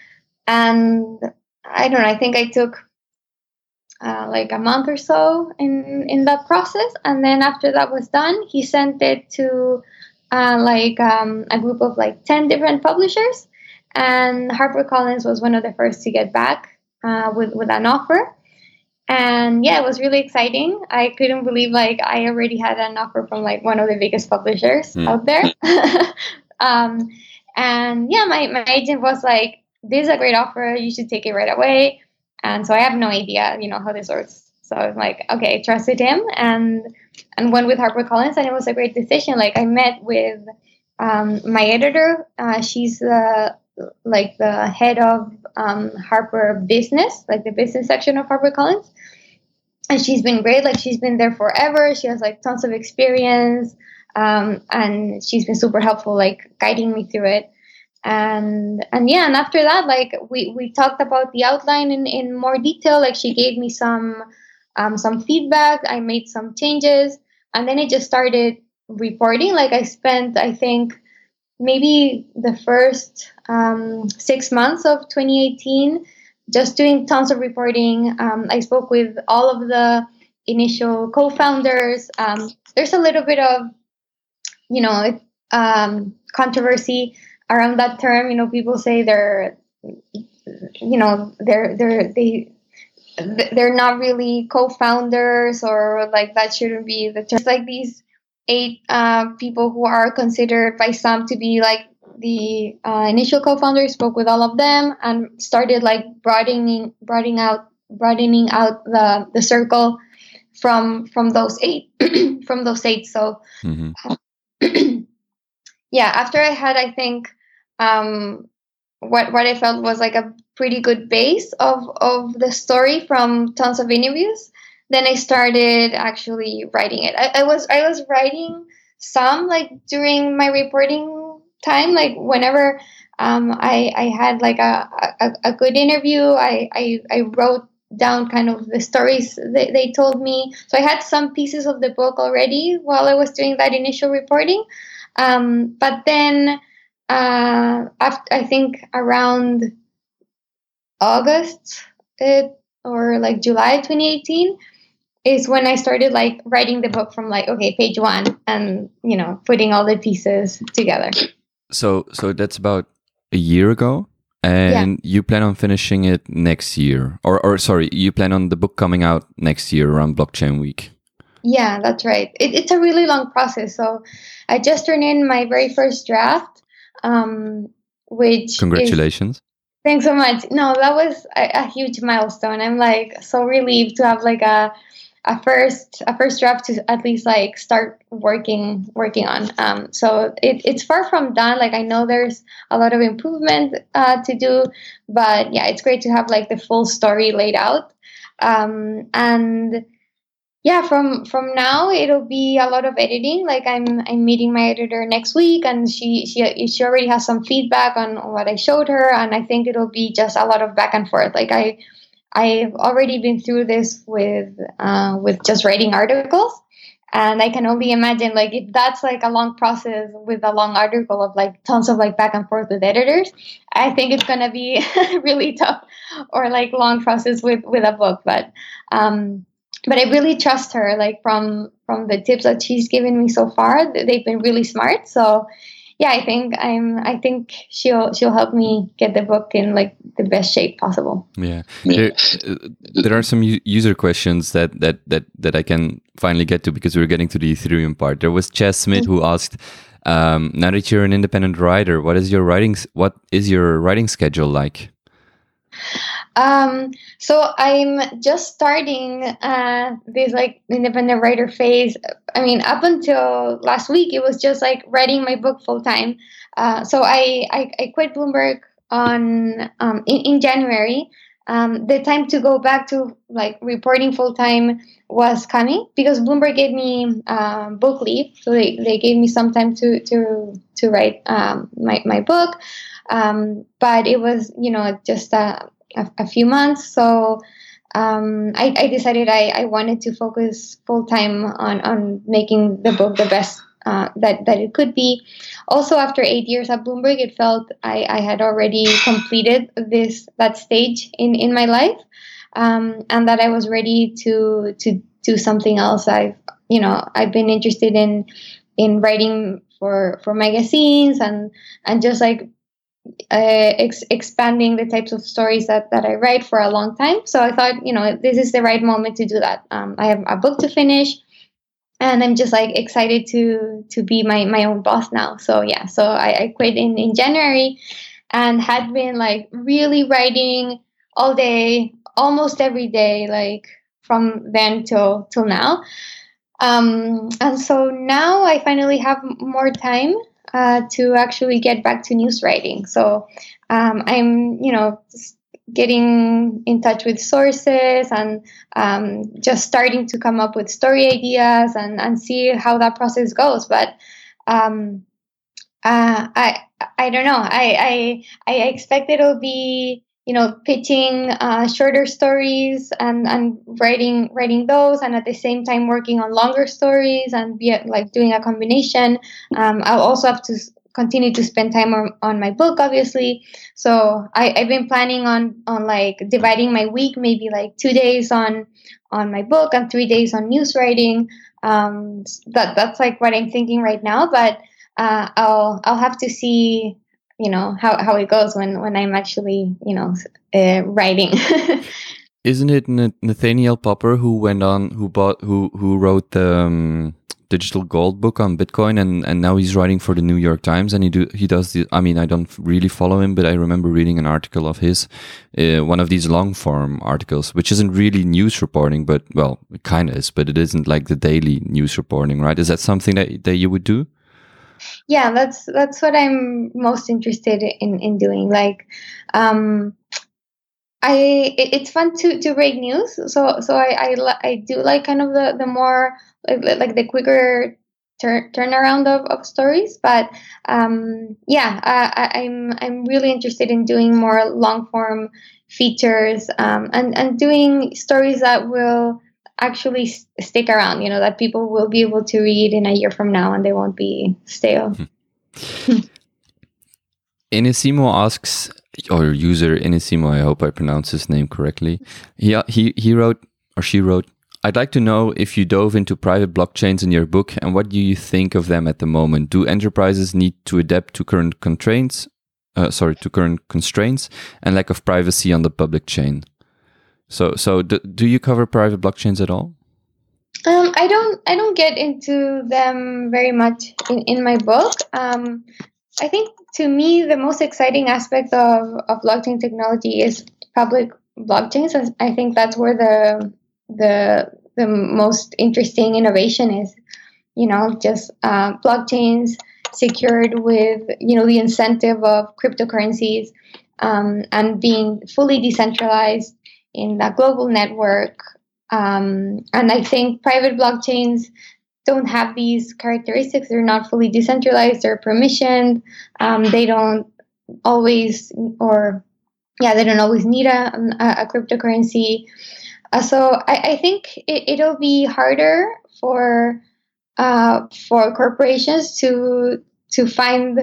And I don't know, I think I took uh, like a month or so in in that process, and then after that was done, he sent it to uh, like um, a group of like ten different publishers, and HarperCollins was one of the first to get back uh, with with an offer. And yeah, it was really exciting. I couldn't believe like I already had an offer from like one of the biggest publishers Mm. out there. um, and yeah, my, my agent was like, "This is a great offer. You should take it right away." And so I have no idea, you know, how this works. So I was like, okay, trusted him, and and went with HarperCollins, and it was a great decision. Like I met with um, my editor. Uh, she's the like the head of um, Harper Business, like the business section of HarperCollins, and she's been great. Like she's been there forever. She has like tons of experience, um, and she's been super helpful, like guiding me through it. And and yeah, and after that, like we we talked about the outline in, in more detail. Like she gave me some um, some feedback. I made some changes, and then it just started reporting. Like I spent, I think, maybe the first um, six months of twenty eighteen, just doing tons of reporting. Um, I spoke with all of the initial co-founders. Um, there's a little bit of, you know, um, controversy around that term. You know, people say they're, you know, they're they're they they're not really co-founders, or like that shouldn't be the term. It's like these eight uh, people who are considered by some to be like the uh, initial co-founders. Spoke with all of them and started like broadening broadening out broadening out the the circle from from those eight from those eight. So Mm-hmm. yeah, after I had, I think, um, what what I felt was like a pretty good base of of the story from tons of interviews, then I started actually writing it. I, I was I was writing some like during my reporting time, like whenever um, I I had like a, a, a good interview, I, I I wrote down kind of the stories they, they told me. So I had some pieces of the book already while I was doing that initial reporting. Um, but then uh, after, I think around August it, or like July twenty eighteen is when I started like writing the book from like, okay, page one, and, you know, putting all the pieces together. So, so that's about a year ago, and yeah. You plan on finishing it next year, or, or sorry, you plan on the book coming out next year around Blockchain Week. Yeah, that's right. It, it's a really long process. So I just turned in my very first draft, um, which congratulations. Is, thanks so much. No, that was a, a huge milestone. I'm like so relieved to have like a a first a first draft to at least like start working working on. Um, so it, it's far from done. Like I know there's a lot of improvement uh, to do, but yeah, it's great to have like the full story laid out. Um, and yeah, from from now it'll be a lot of editing. Like I'm I'm meeting my editor next week, and she she she already has some feedback on what I showed her, and I think it'll be just a lot of back and forth. Like I I've already been through this with uh, with just writing articles, and I can only imagine like if that's like a long process with a long article of like tons of like back and forth with editors, I think it's gonna be really tough, or like long process with with a book. But um, but I really trust her. Like from from the tips that she's given me so far, they've been really smart. So yeah, I think I'm. I think she'll she'll help me get the book in like the best shape possible. Yeah, there, uh, there are some u- user questions that, that that that I can finally get to because we're getting to the Ethereum part. There was Chess Smith mm-hmm. who asked, um, "Now that you're an independent writer, what is your writing? What is your writing schedule like?" Um, so I'm just starting uh, this like independent writer phase. I mean, up until last week, it was just like writing my book full time. Uh, so I, I I quit Bloomberg on um, in, in January. Um, the time to go back to like reporting full time was coming because Bloomberg gave me um, book leave, so they, they gave me some time to to to write um, my my book. Um, but it was, you know, just a A, a few months. So um, I, I decided I, I wanted to focus full time on, on making the book the best uh, that, that it could be. Also, after eight years at Bloomberg, it felt I, I had already completed this that stage in, in my life, um, and that I was ready to to do something else. I've you know I've been interested in in writing for, for magazines and and just like Uh, ex- expanding the types of stories that, that I write for a long time. So I thought, you know, this is the right moment to do that. Um, I have a book to finish, and I'm just like excited to to be my, my own boss now. So yeah, so I, I quit in, in January and had been like really writing all day, almost every day, like from then till till now. Um, and so now I finally have more time Uh, to actually get back to news writing. So um, I'm, you know, getting in touch with sources and um, just starting to come up with story ideas and, and see how that process goes. But um, uh, I I don't know. I I, I expect it'll be, you know, pitching uh, shorter stories and, and writing writing those, and at the same time working on longer stories and be like doing a combination. Um, I'll also have to continue to spend time on, on my book, obviously. So I, I've been planning on on like dividing my week, maybe like two days on on my book and three days on news writing. Um, that that's like what I'm thinking right now, but uh, I'll I'll have to see, you know, how, how it goes when, when I'm actually, you know, uh, writing. Isn't it Nathaniel Popper who went on, who bought, who who wrote the um, digital gold book on Bitcoin, and, and now he's writing for the New York Times, and he do he does the. I mean, I don't really follow him, but I remember reading an article of his, uh, one of these long form articles, which isn't really news reporting, but well, it kind of is, but it isn't like the daily news reporting, right? Is that something that that you would do? Yeah, that's that's what I'm most interested in in doing. Like, um, I it, it's fun to to break news. So so I I, I do like kind of the the more like, like the quicker turn turnaround of, of stories. But um, yeah, I, I, I'm I'm really interested in doing more long form features um, and and doing stories that will actually s- stick around. You know, that people will be able to read in a year from now and they won't be stale. Inisimo asks, or user Inisimo, I hope I pronounced his name correctly. He, he, he wrote, or she wrote, I'd like to know if you dove into private blockchains in your book, and what do you think of them at the moment? Do enterprises need to adapt to current constraints, uh, sorry, to current constraints and lack of privacy on the public chain? So, so do, do you cover private blockchains at all? Um, I don't. I don't get into them very much in, in my book. Um, I think to me the most exciting aspect of, of blockchain technology is public blockchains. I think that's where the the the most interesting innovation is. You know, just uh, blockchains secured with you know the incentive of cryptocurrencies um, and being fully decentralized in that global network. Um, and I think private blockchains don't have these characteristics. They're not fully decentralized. They're permissioned. Um, they don't always, or yeah, they don't always need a, a, a cryptocurrency. Uh, so I, I think it, it'll be harder for uh, for corporations to to find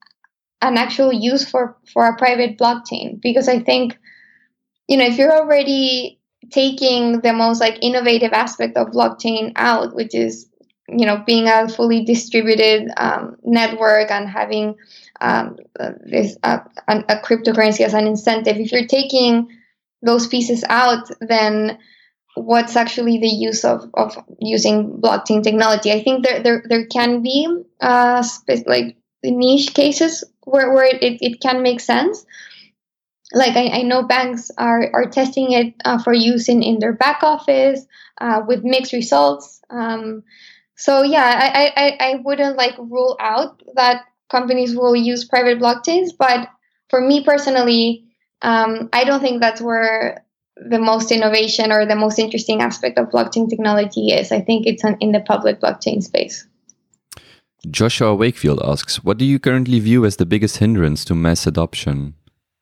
an actual use for for a private blockchain, because I think you know if you're already taking the most like innovative aspect of blockchain out, which is you know being a fully distributed um, network and having um, uh, this uh, a, a cryptocurrency as an incentive, if you're taking those pieces out, then what's actually the use of, of using blockchain technology? I think there there, there can be uh, spe- like niche cases where, where it, it can make sense. Like I, I know banks are, are testing it uh, for use in, in their back office uh, with mixed results. Um, so yeah, I, I, I wouldn't like rule out that companies will use private blockchains, but for me personally, um, I don't think that's where the most innovation or the most interesting aspect of blockchain technology is. I think it's an, in the public blockchain space. Joshua Wakefield asks, what do you currently view as the biggest hindrance to mass adoption?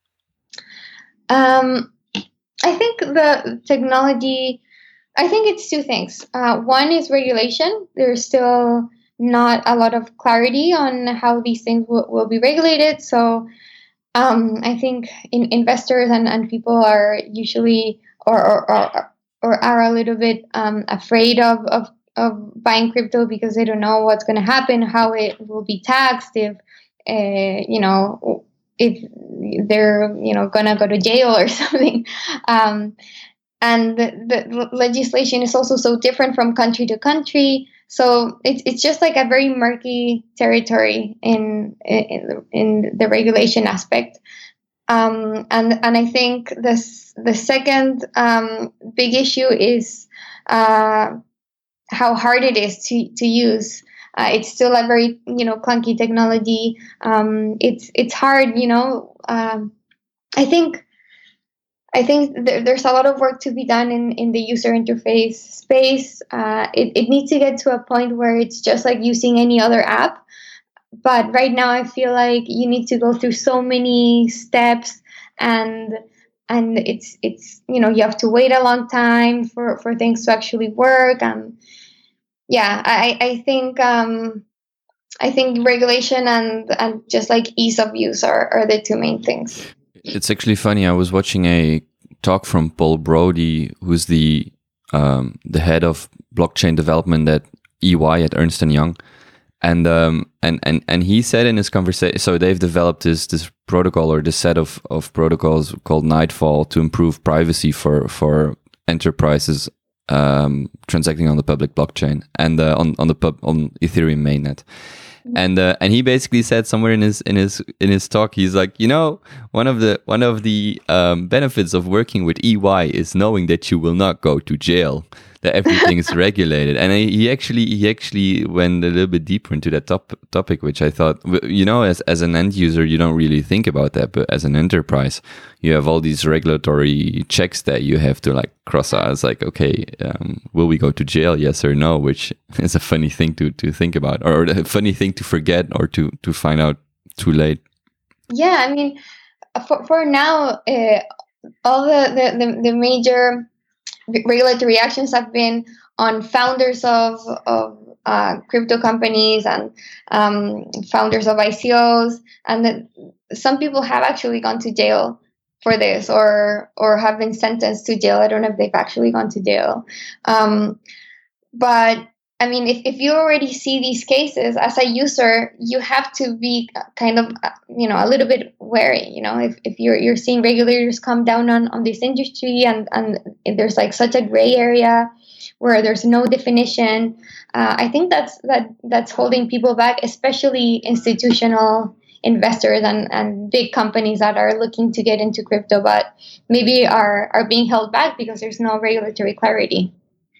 Um, I think the technology, I think it's two things. Uh, one is regulation. There's still not a lot of clarity on how these things will, will be regulated. So um, I think in, investors and, and people are usually or, or, or, or are a little bit um, afraid of, of, of buying crypto because they don't know what's going to happen, how it will be taxed, if, uh, you know, if they're, you know, going to go to jail or something. Um, and the, the legislation is also so different from country to country. So it's it's just like a very murky territory in in, in the regulation aspect. Um, and and I think this the second um, big issue is uh, how hard it is to to use. Uh, it's still a very you know clunky technology. Um, it's it's hard, you know. Um, I think. I think th- there's a lot of work to be done in, in the user interface space. Uh, it, it needs to get to a point where it's just like using any other app. But right now, I feel like you need to go through so many steps, and and it's it's you know you have to wait a long time for, for things to actually work. And yeah, I I think um, I think regulation and and just like ease of use are, are the two main things. It's actually funny. I was watching a talk from Paul Brody, who's the um, the head of blockchain development at E Y at Ernst and Young, and um, and and and he said in his conversation, so they've developed this this protocol or this set of of protocols called Nightfall to improve privacy for for enterprises um, transacting on the public blockchain and uh, on on the pub on Ethereum mainnet. And uh, and he basically said somewhere in his in his in his talk, he's like, you know, one of the one of the um, benefits of working with E Y is knowing that you will not go to jail, that everything is regulated. And he he actually he actually went a little bit deeper into that top, topic, which I thought, you know, as as an end user, you don't really think about that, but as an enterprise, you have all these regulatory checks that you have to like cross out. It's like, okay, um, will we go to jail? Yes or no? Which is a funny thing to to think about, or a funny thing to forget, or to to find out too late. Yeah, I mean, for for now, uh, all the, the the the major regulatory actions have been on founders of of uh, crypto companies and um, founders of I C Os, and that some people have actually gone to jail for this, or or have been sentenced to jail. I don't know if they've actually gone to jail, um, but I mean, if, if you already see these cases as a user, you have to be kind of, you know, a little bit wary. You know, if, if you're you're seeing regulators come down on, on this industry, and, and there's like such a gray area where there's no definition, uh, I think that's that that's holding people back, especially institutional investors and, and big companies that are looking to get into crypto, but maybe are are being held back because there's no regulatory clarity.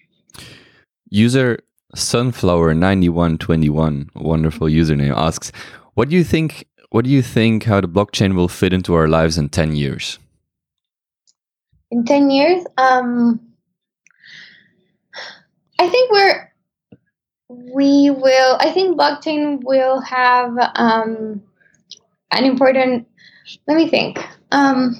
User Sunflower ninety-one twenty-one, wonderful username, asks, what do you think what do you think how the blockchain will fit into our lives in ten years? In ten years, um I think we're we will I think blockchain will have um an important let me think. Um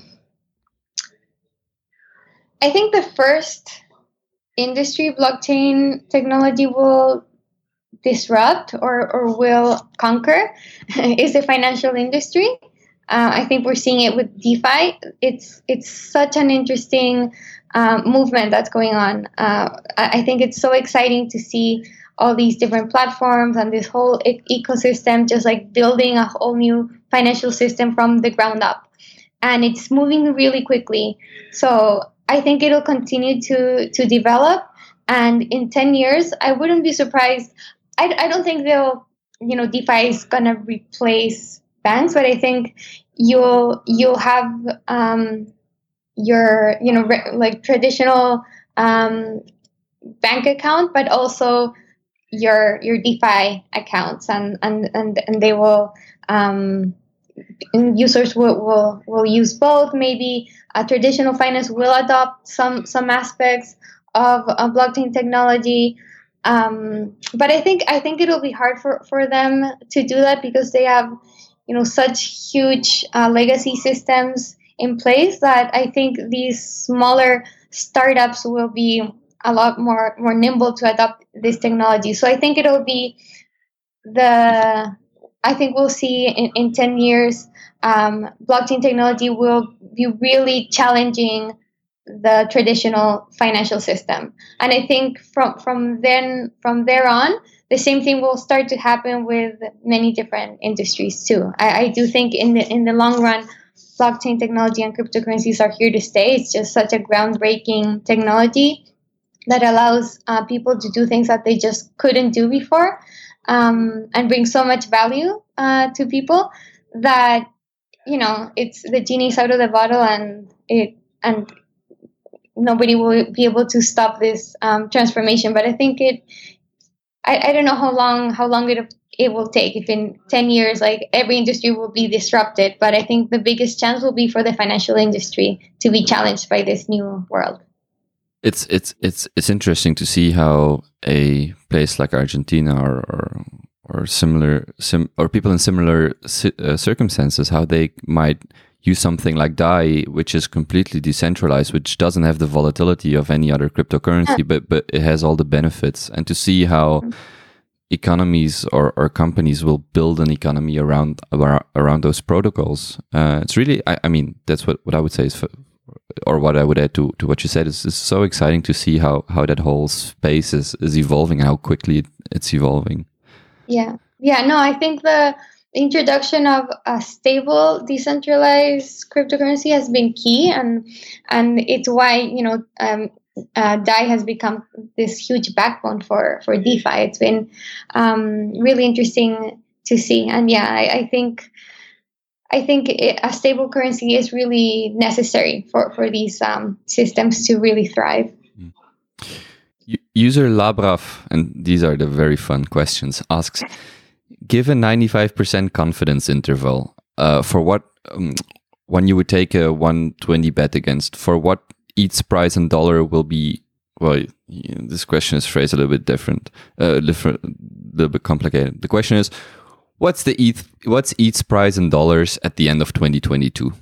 I think the first industry blockchain technology will disrupt or, or will conquer is the financial industry. Uh, I think we're seeing it with DeFi. It's it's such an interesting um, movement that's going on. Uh, I, I think it's so exciting to see all these different platforms and this whole e- ecosystem just like building a whole new financial system from the ground up. And it's moving really quickly. So I think it'll continue to to develop, and in ten years, I wouldn't be surprised. I, I don't think they'll, you know, DeFi is gonna replace banks, but I think you'll you'll have um, your, you know, re- like traditional um, bank account, but also your your DeFi accounts, and and and, and they will. Um, users will, will will use both. Maybe uh, traditional finance will adopt some some aspects of, of blockchain technology, um, but I think I think it'll be hard for, for them to do that because they have, you know, such huge uh, legacy systems in place that I think these smaller startups will be a lot more more nimble to adopt this technology. So I think it'll be the I think we'll see in, in ten years, um, blockchain technology will be really challenging the traditional financial system. And I think from, from then from there on, the same thing will start to happen with many different industries too. I, I do think in the in the long run, blockchain technology and cryptocurrencies are here to stay. It's just such a groundbreaking technology that allows uh, people to do things that they just couldn't do before. Um, and bring so much value uh, to people that, you know, it's the genie's out of the bottle, and it and nobody will be able to stop this um, transformation. But I think it, I, I don't know how long how long it it will take. If in ten years, like every industry will be disrupted, but I think the biggest chance will be for the financial industry to be challenged by this new world. It's it's it's it's interesting to see how a place like Argentina or or, or similar sim, or people in similar uh, circumstances, how they might use something like D A I, which is completely decentralized, which doesn't have the volatility of any other cryptocurrency, but but it has all the benefits. And to see how economies or, or companies will build an economy around around, around those protocols. Uh, it's really, I, I mean, that's what, what I would say is, for, or what I would add to, to what you said is, is so exciting to see how, how that whole space is, is evolving and how quickly it, it's evolving. Yeah. Yeah. No, I think the introduction of a stable, decentralized cryptocurrency has been key, and and it's why, you know, um, uh, D A I has become this huge backbone for for DeFi. It's been um, really interesting to see, and yeah, I, I think I think it, a stable currency is really necessary for for these um, systems to really thrive. User Labraf, and these are the very fun questions, asks, give a ninety-five percent confidence interval uh, for what um, when you would take a one twenty bet against, for what E T H's price in dollar will be. Well, this question is phrased a little bit different, uh, different, a little bit complicated. The question is, what's the E T H, what's E T H's price in dollars at the end of twenty twenty-two?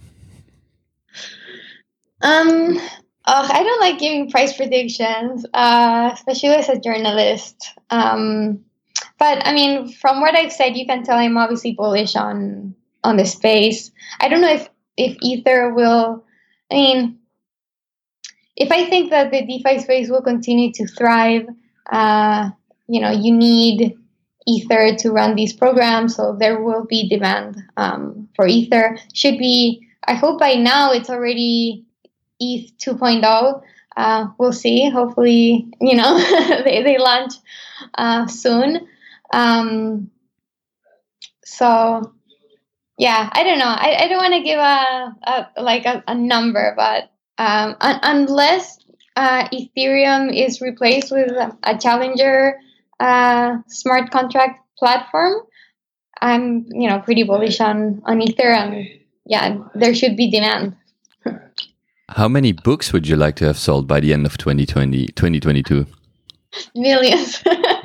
Um, oh, I don't like giving price predictions, uh, especially as a journalist. Um, But I mean, from what I've said, you can tell I'm obviously bullish on on the space. I don't know if if Ether will. I mean, if I think that the DeFi space will continue to thrive, uh, you know, you need Ether to run these programs, so there will be demand um, for Ether. Should be. I hope by now it's already E T H two point oh. Uh, we'll see. Hopefully, you know, they they launch uh, soon. Um, so yeah, I don't know. I, I don't want to give a, a like a, a number, but um, un- unless uh, Ethereum is replaced with a challenger uh, smart contract platform, I'm you know pretty bullish on on Ether, and yeah, there should be demand. How many books would you like to have sold by the end of twenty twenty, twenty twenty-two? Millions.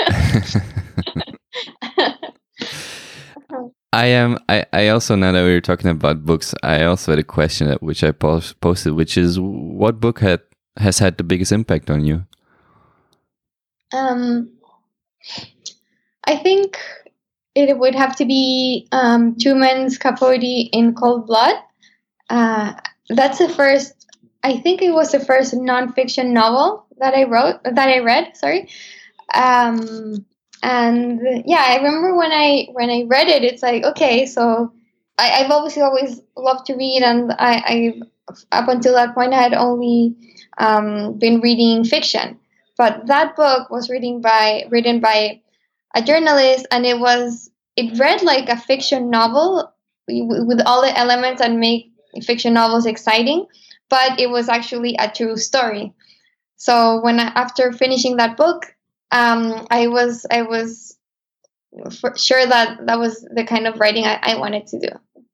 I am. I, I also, now that we were talking about books, I also had a question that, which I post, posted, which is, what book had has had the biggest impact on you? Um, I think it would have to be um, Truman Capote in Cold Blood. Uh, that's the first. I think it was the first nonfiction novel that I wrote. That I read. Sorry. Um, And yeah, I remember when I when I read it, it's like, okay, so I, I've obviously always loved to read, and I, I up until that point I had only um, been reading fiction. But that book was written by written by a journalist, and it was it read like a fiction novel with all the elements that make fiction novels exciting, but it was actually a true story. So when I, after finishing that book, Um, I was I was for sure that that was the kind of writing I, I wanted to do.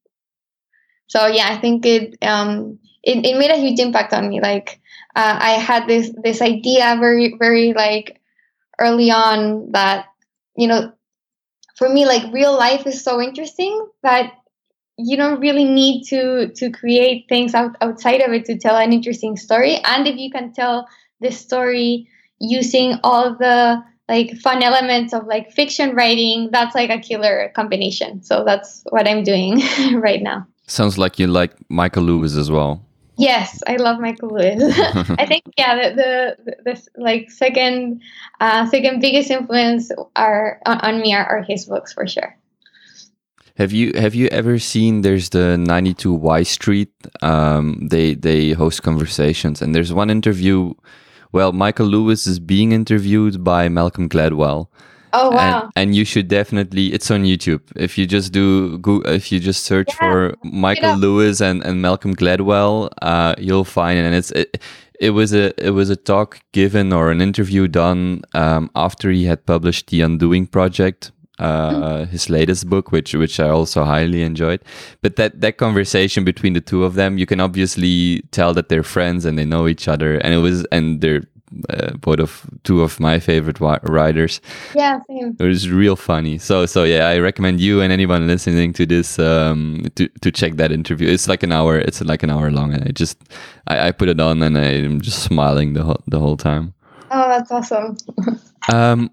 So yeah, I think it um it, it made a huge impact on me. Like uh, I had this this idea very very like early on that, you know, for me, like, real life is so interesting that you don't really need to to create things out, outside of it to tell an interesting story. And if you can tell this story using all the like fun elements of like fiction writing, that's like a killer combination. So that's what I'm doing right now. Sounds like you like Michael Lewis as well. Yes, I love Michael Lewis. I think yeah, the the, the like second uh, second biggest influence are on, on me are, are his books for sure. Have you have you ever seen? There's the ninety-two Y Street. Um, they they host conversations, and there's one interview. Well, Michael Lewis is being interviewed by Malcolm Gladwell. Oh wow! And, and you should definitely. It's on YouTube. If you just do, go, if you just search yeah, for Michael Lewis and, and Malcolm Gladwell, uh, you'll find it. And it's it, it was a it was a talk given or an interview done um, after he had published The Undoing Project, uh, mm-hmm. his latest book, which which I also highly enjoyed. But that that conversation between the two of them, you can obviously tell that they're friends and they know each other, and it was and they're uh, both of two of my favorite wi- writers. Yeah, same. It was real funny. So so yeah, I recommend you and anyone listening to this um, to to check that interview. It's like an hour. It's like an hour long, and I just I, I put it on and I'm just smiling the whole the whole time. Oh, that's awesome. um.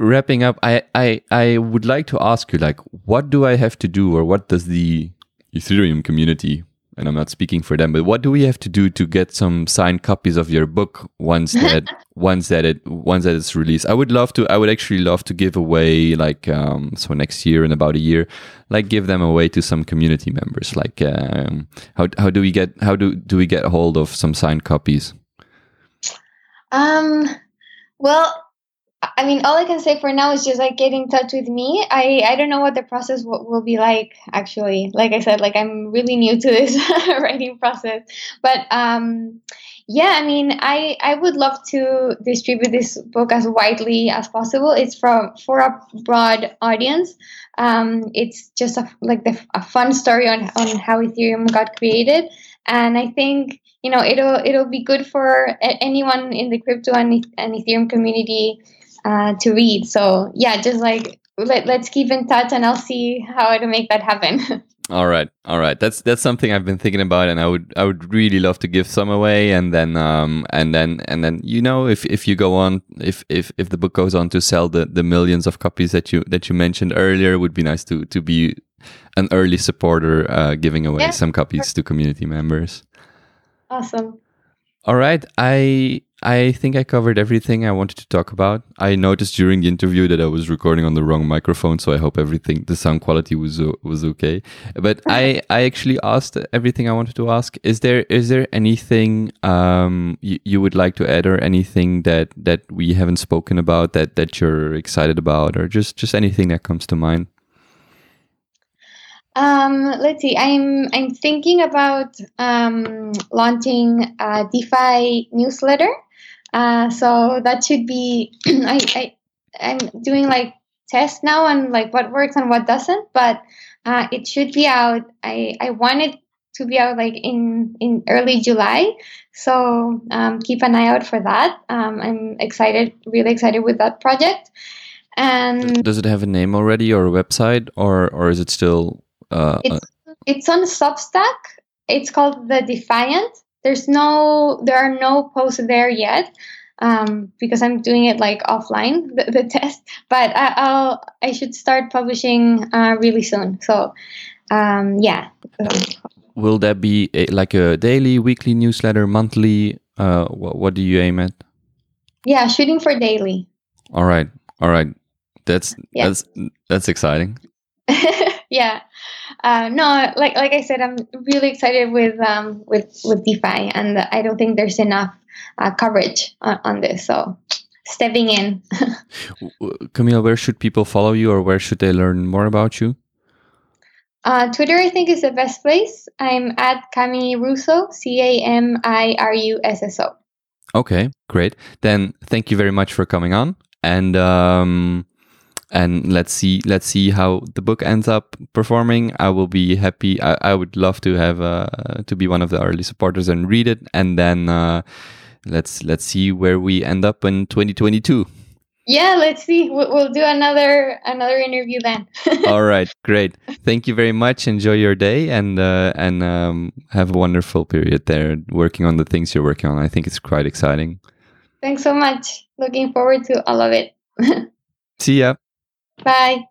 wrapping up, I, I I would like to ask you, like, what do I have to do, or what does the Ethereum community, and I'm not speaking for them, but what do we have to do to get some signed copies of your book once that once that it once that it's released? I would love to. I would actually love to give away, like, um, so next year, in about a year, like, give them away to some community members. Like, um, how how do we get how do do we get a hold of some signed copies? Um. Well, I mean, all I can say for now is just like get in touch with me. I, I don't know what the process w- will be like, actually. Like I said, like I'm really new to this writing process. But um, yeah, I mean, I, I would love to distribute this book as widely as possible. It's from for a broad audience. Um, it's just a, like the, a fun story on, on how Ethereum got created. And I think, you know, it'll it'll be good for a- anyone in the crypto and, and Ethereum community uh, to read. So yeah, just like let, let's keep in touch, and I'll see how to make that happen. All right, all right. That's that's something I've been thinking about, and I would I would really love to give some away, and then um and then and then you know if, if you go on if, if if the book goes on to sell the, the millions of copies that you that you mentioned earlier, it would be nice to to be an early supporter, uh, giving away Yeah. some copies to community members. Awesome. All right, I I think I covered everything I wanted to talk about. I noticed during the interview that I was recording on the wrong microphone, so I hope everything, the sound quality was o- was okay. But I, I actually asked everything I wanted to ask. Is there is there anything um you, you would like to add, or anything that, that we haven't spoken about that, that you're excited about, or just, just anything that comes to mind? Um, let's see. I'm I'm thinking about um, launching a DeFi newsletter. Uh, so that should be. I, I I'm doing like tests now on like what works and what doesn't, but uh, it should be out. I I want it to be out like in in early July. So um, keep an eye out for that. Um, I'm excited, really excited with that project. And Does it have a name already, or a website, or or is it still? Uh, It's it's on Substack. It's called The Defiant. There's no there are no posts there yet, um, because I'm doing it like offline, the, the test. But I, I'll I should start publishing uh, really soon. So um, yeah. Will that be a, like a daily, weekly newsletter, monthly? Uh, what, what do you aim at? Yeah, shooting for daily. All right, all right. That's Yeah. that's that's exciting. Yeah. Uh, no, like like I said, I'm really excited with um with with DeFi, and I don't think there's enough uh, coverage on, on this. So stepping in. W- Camille, where should people follow you, or where should they learn more about you? Uh, Twitter, I think, is the best place. I'm at Cami Russo, C A M I R U S S O. Okay, great. Then thank you very much for coming on, and um, and let's see let's see how the book ends up performing. I will be happy. I, I would love to have uh, to be one of the early supporters and read it, and then uh, let's let's see where we end up in twenty twenty-two. Yeah, let's see. We'll, we'll do another another interview then. All right, great. Thank you very much. Enjoy your day, and uh, and um, have a wonderful period there working on the things you're working on. I think it's quite exciting. Thanks so much. Looking forward to all of it. See ya. Bye.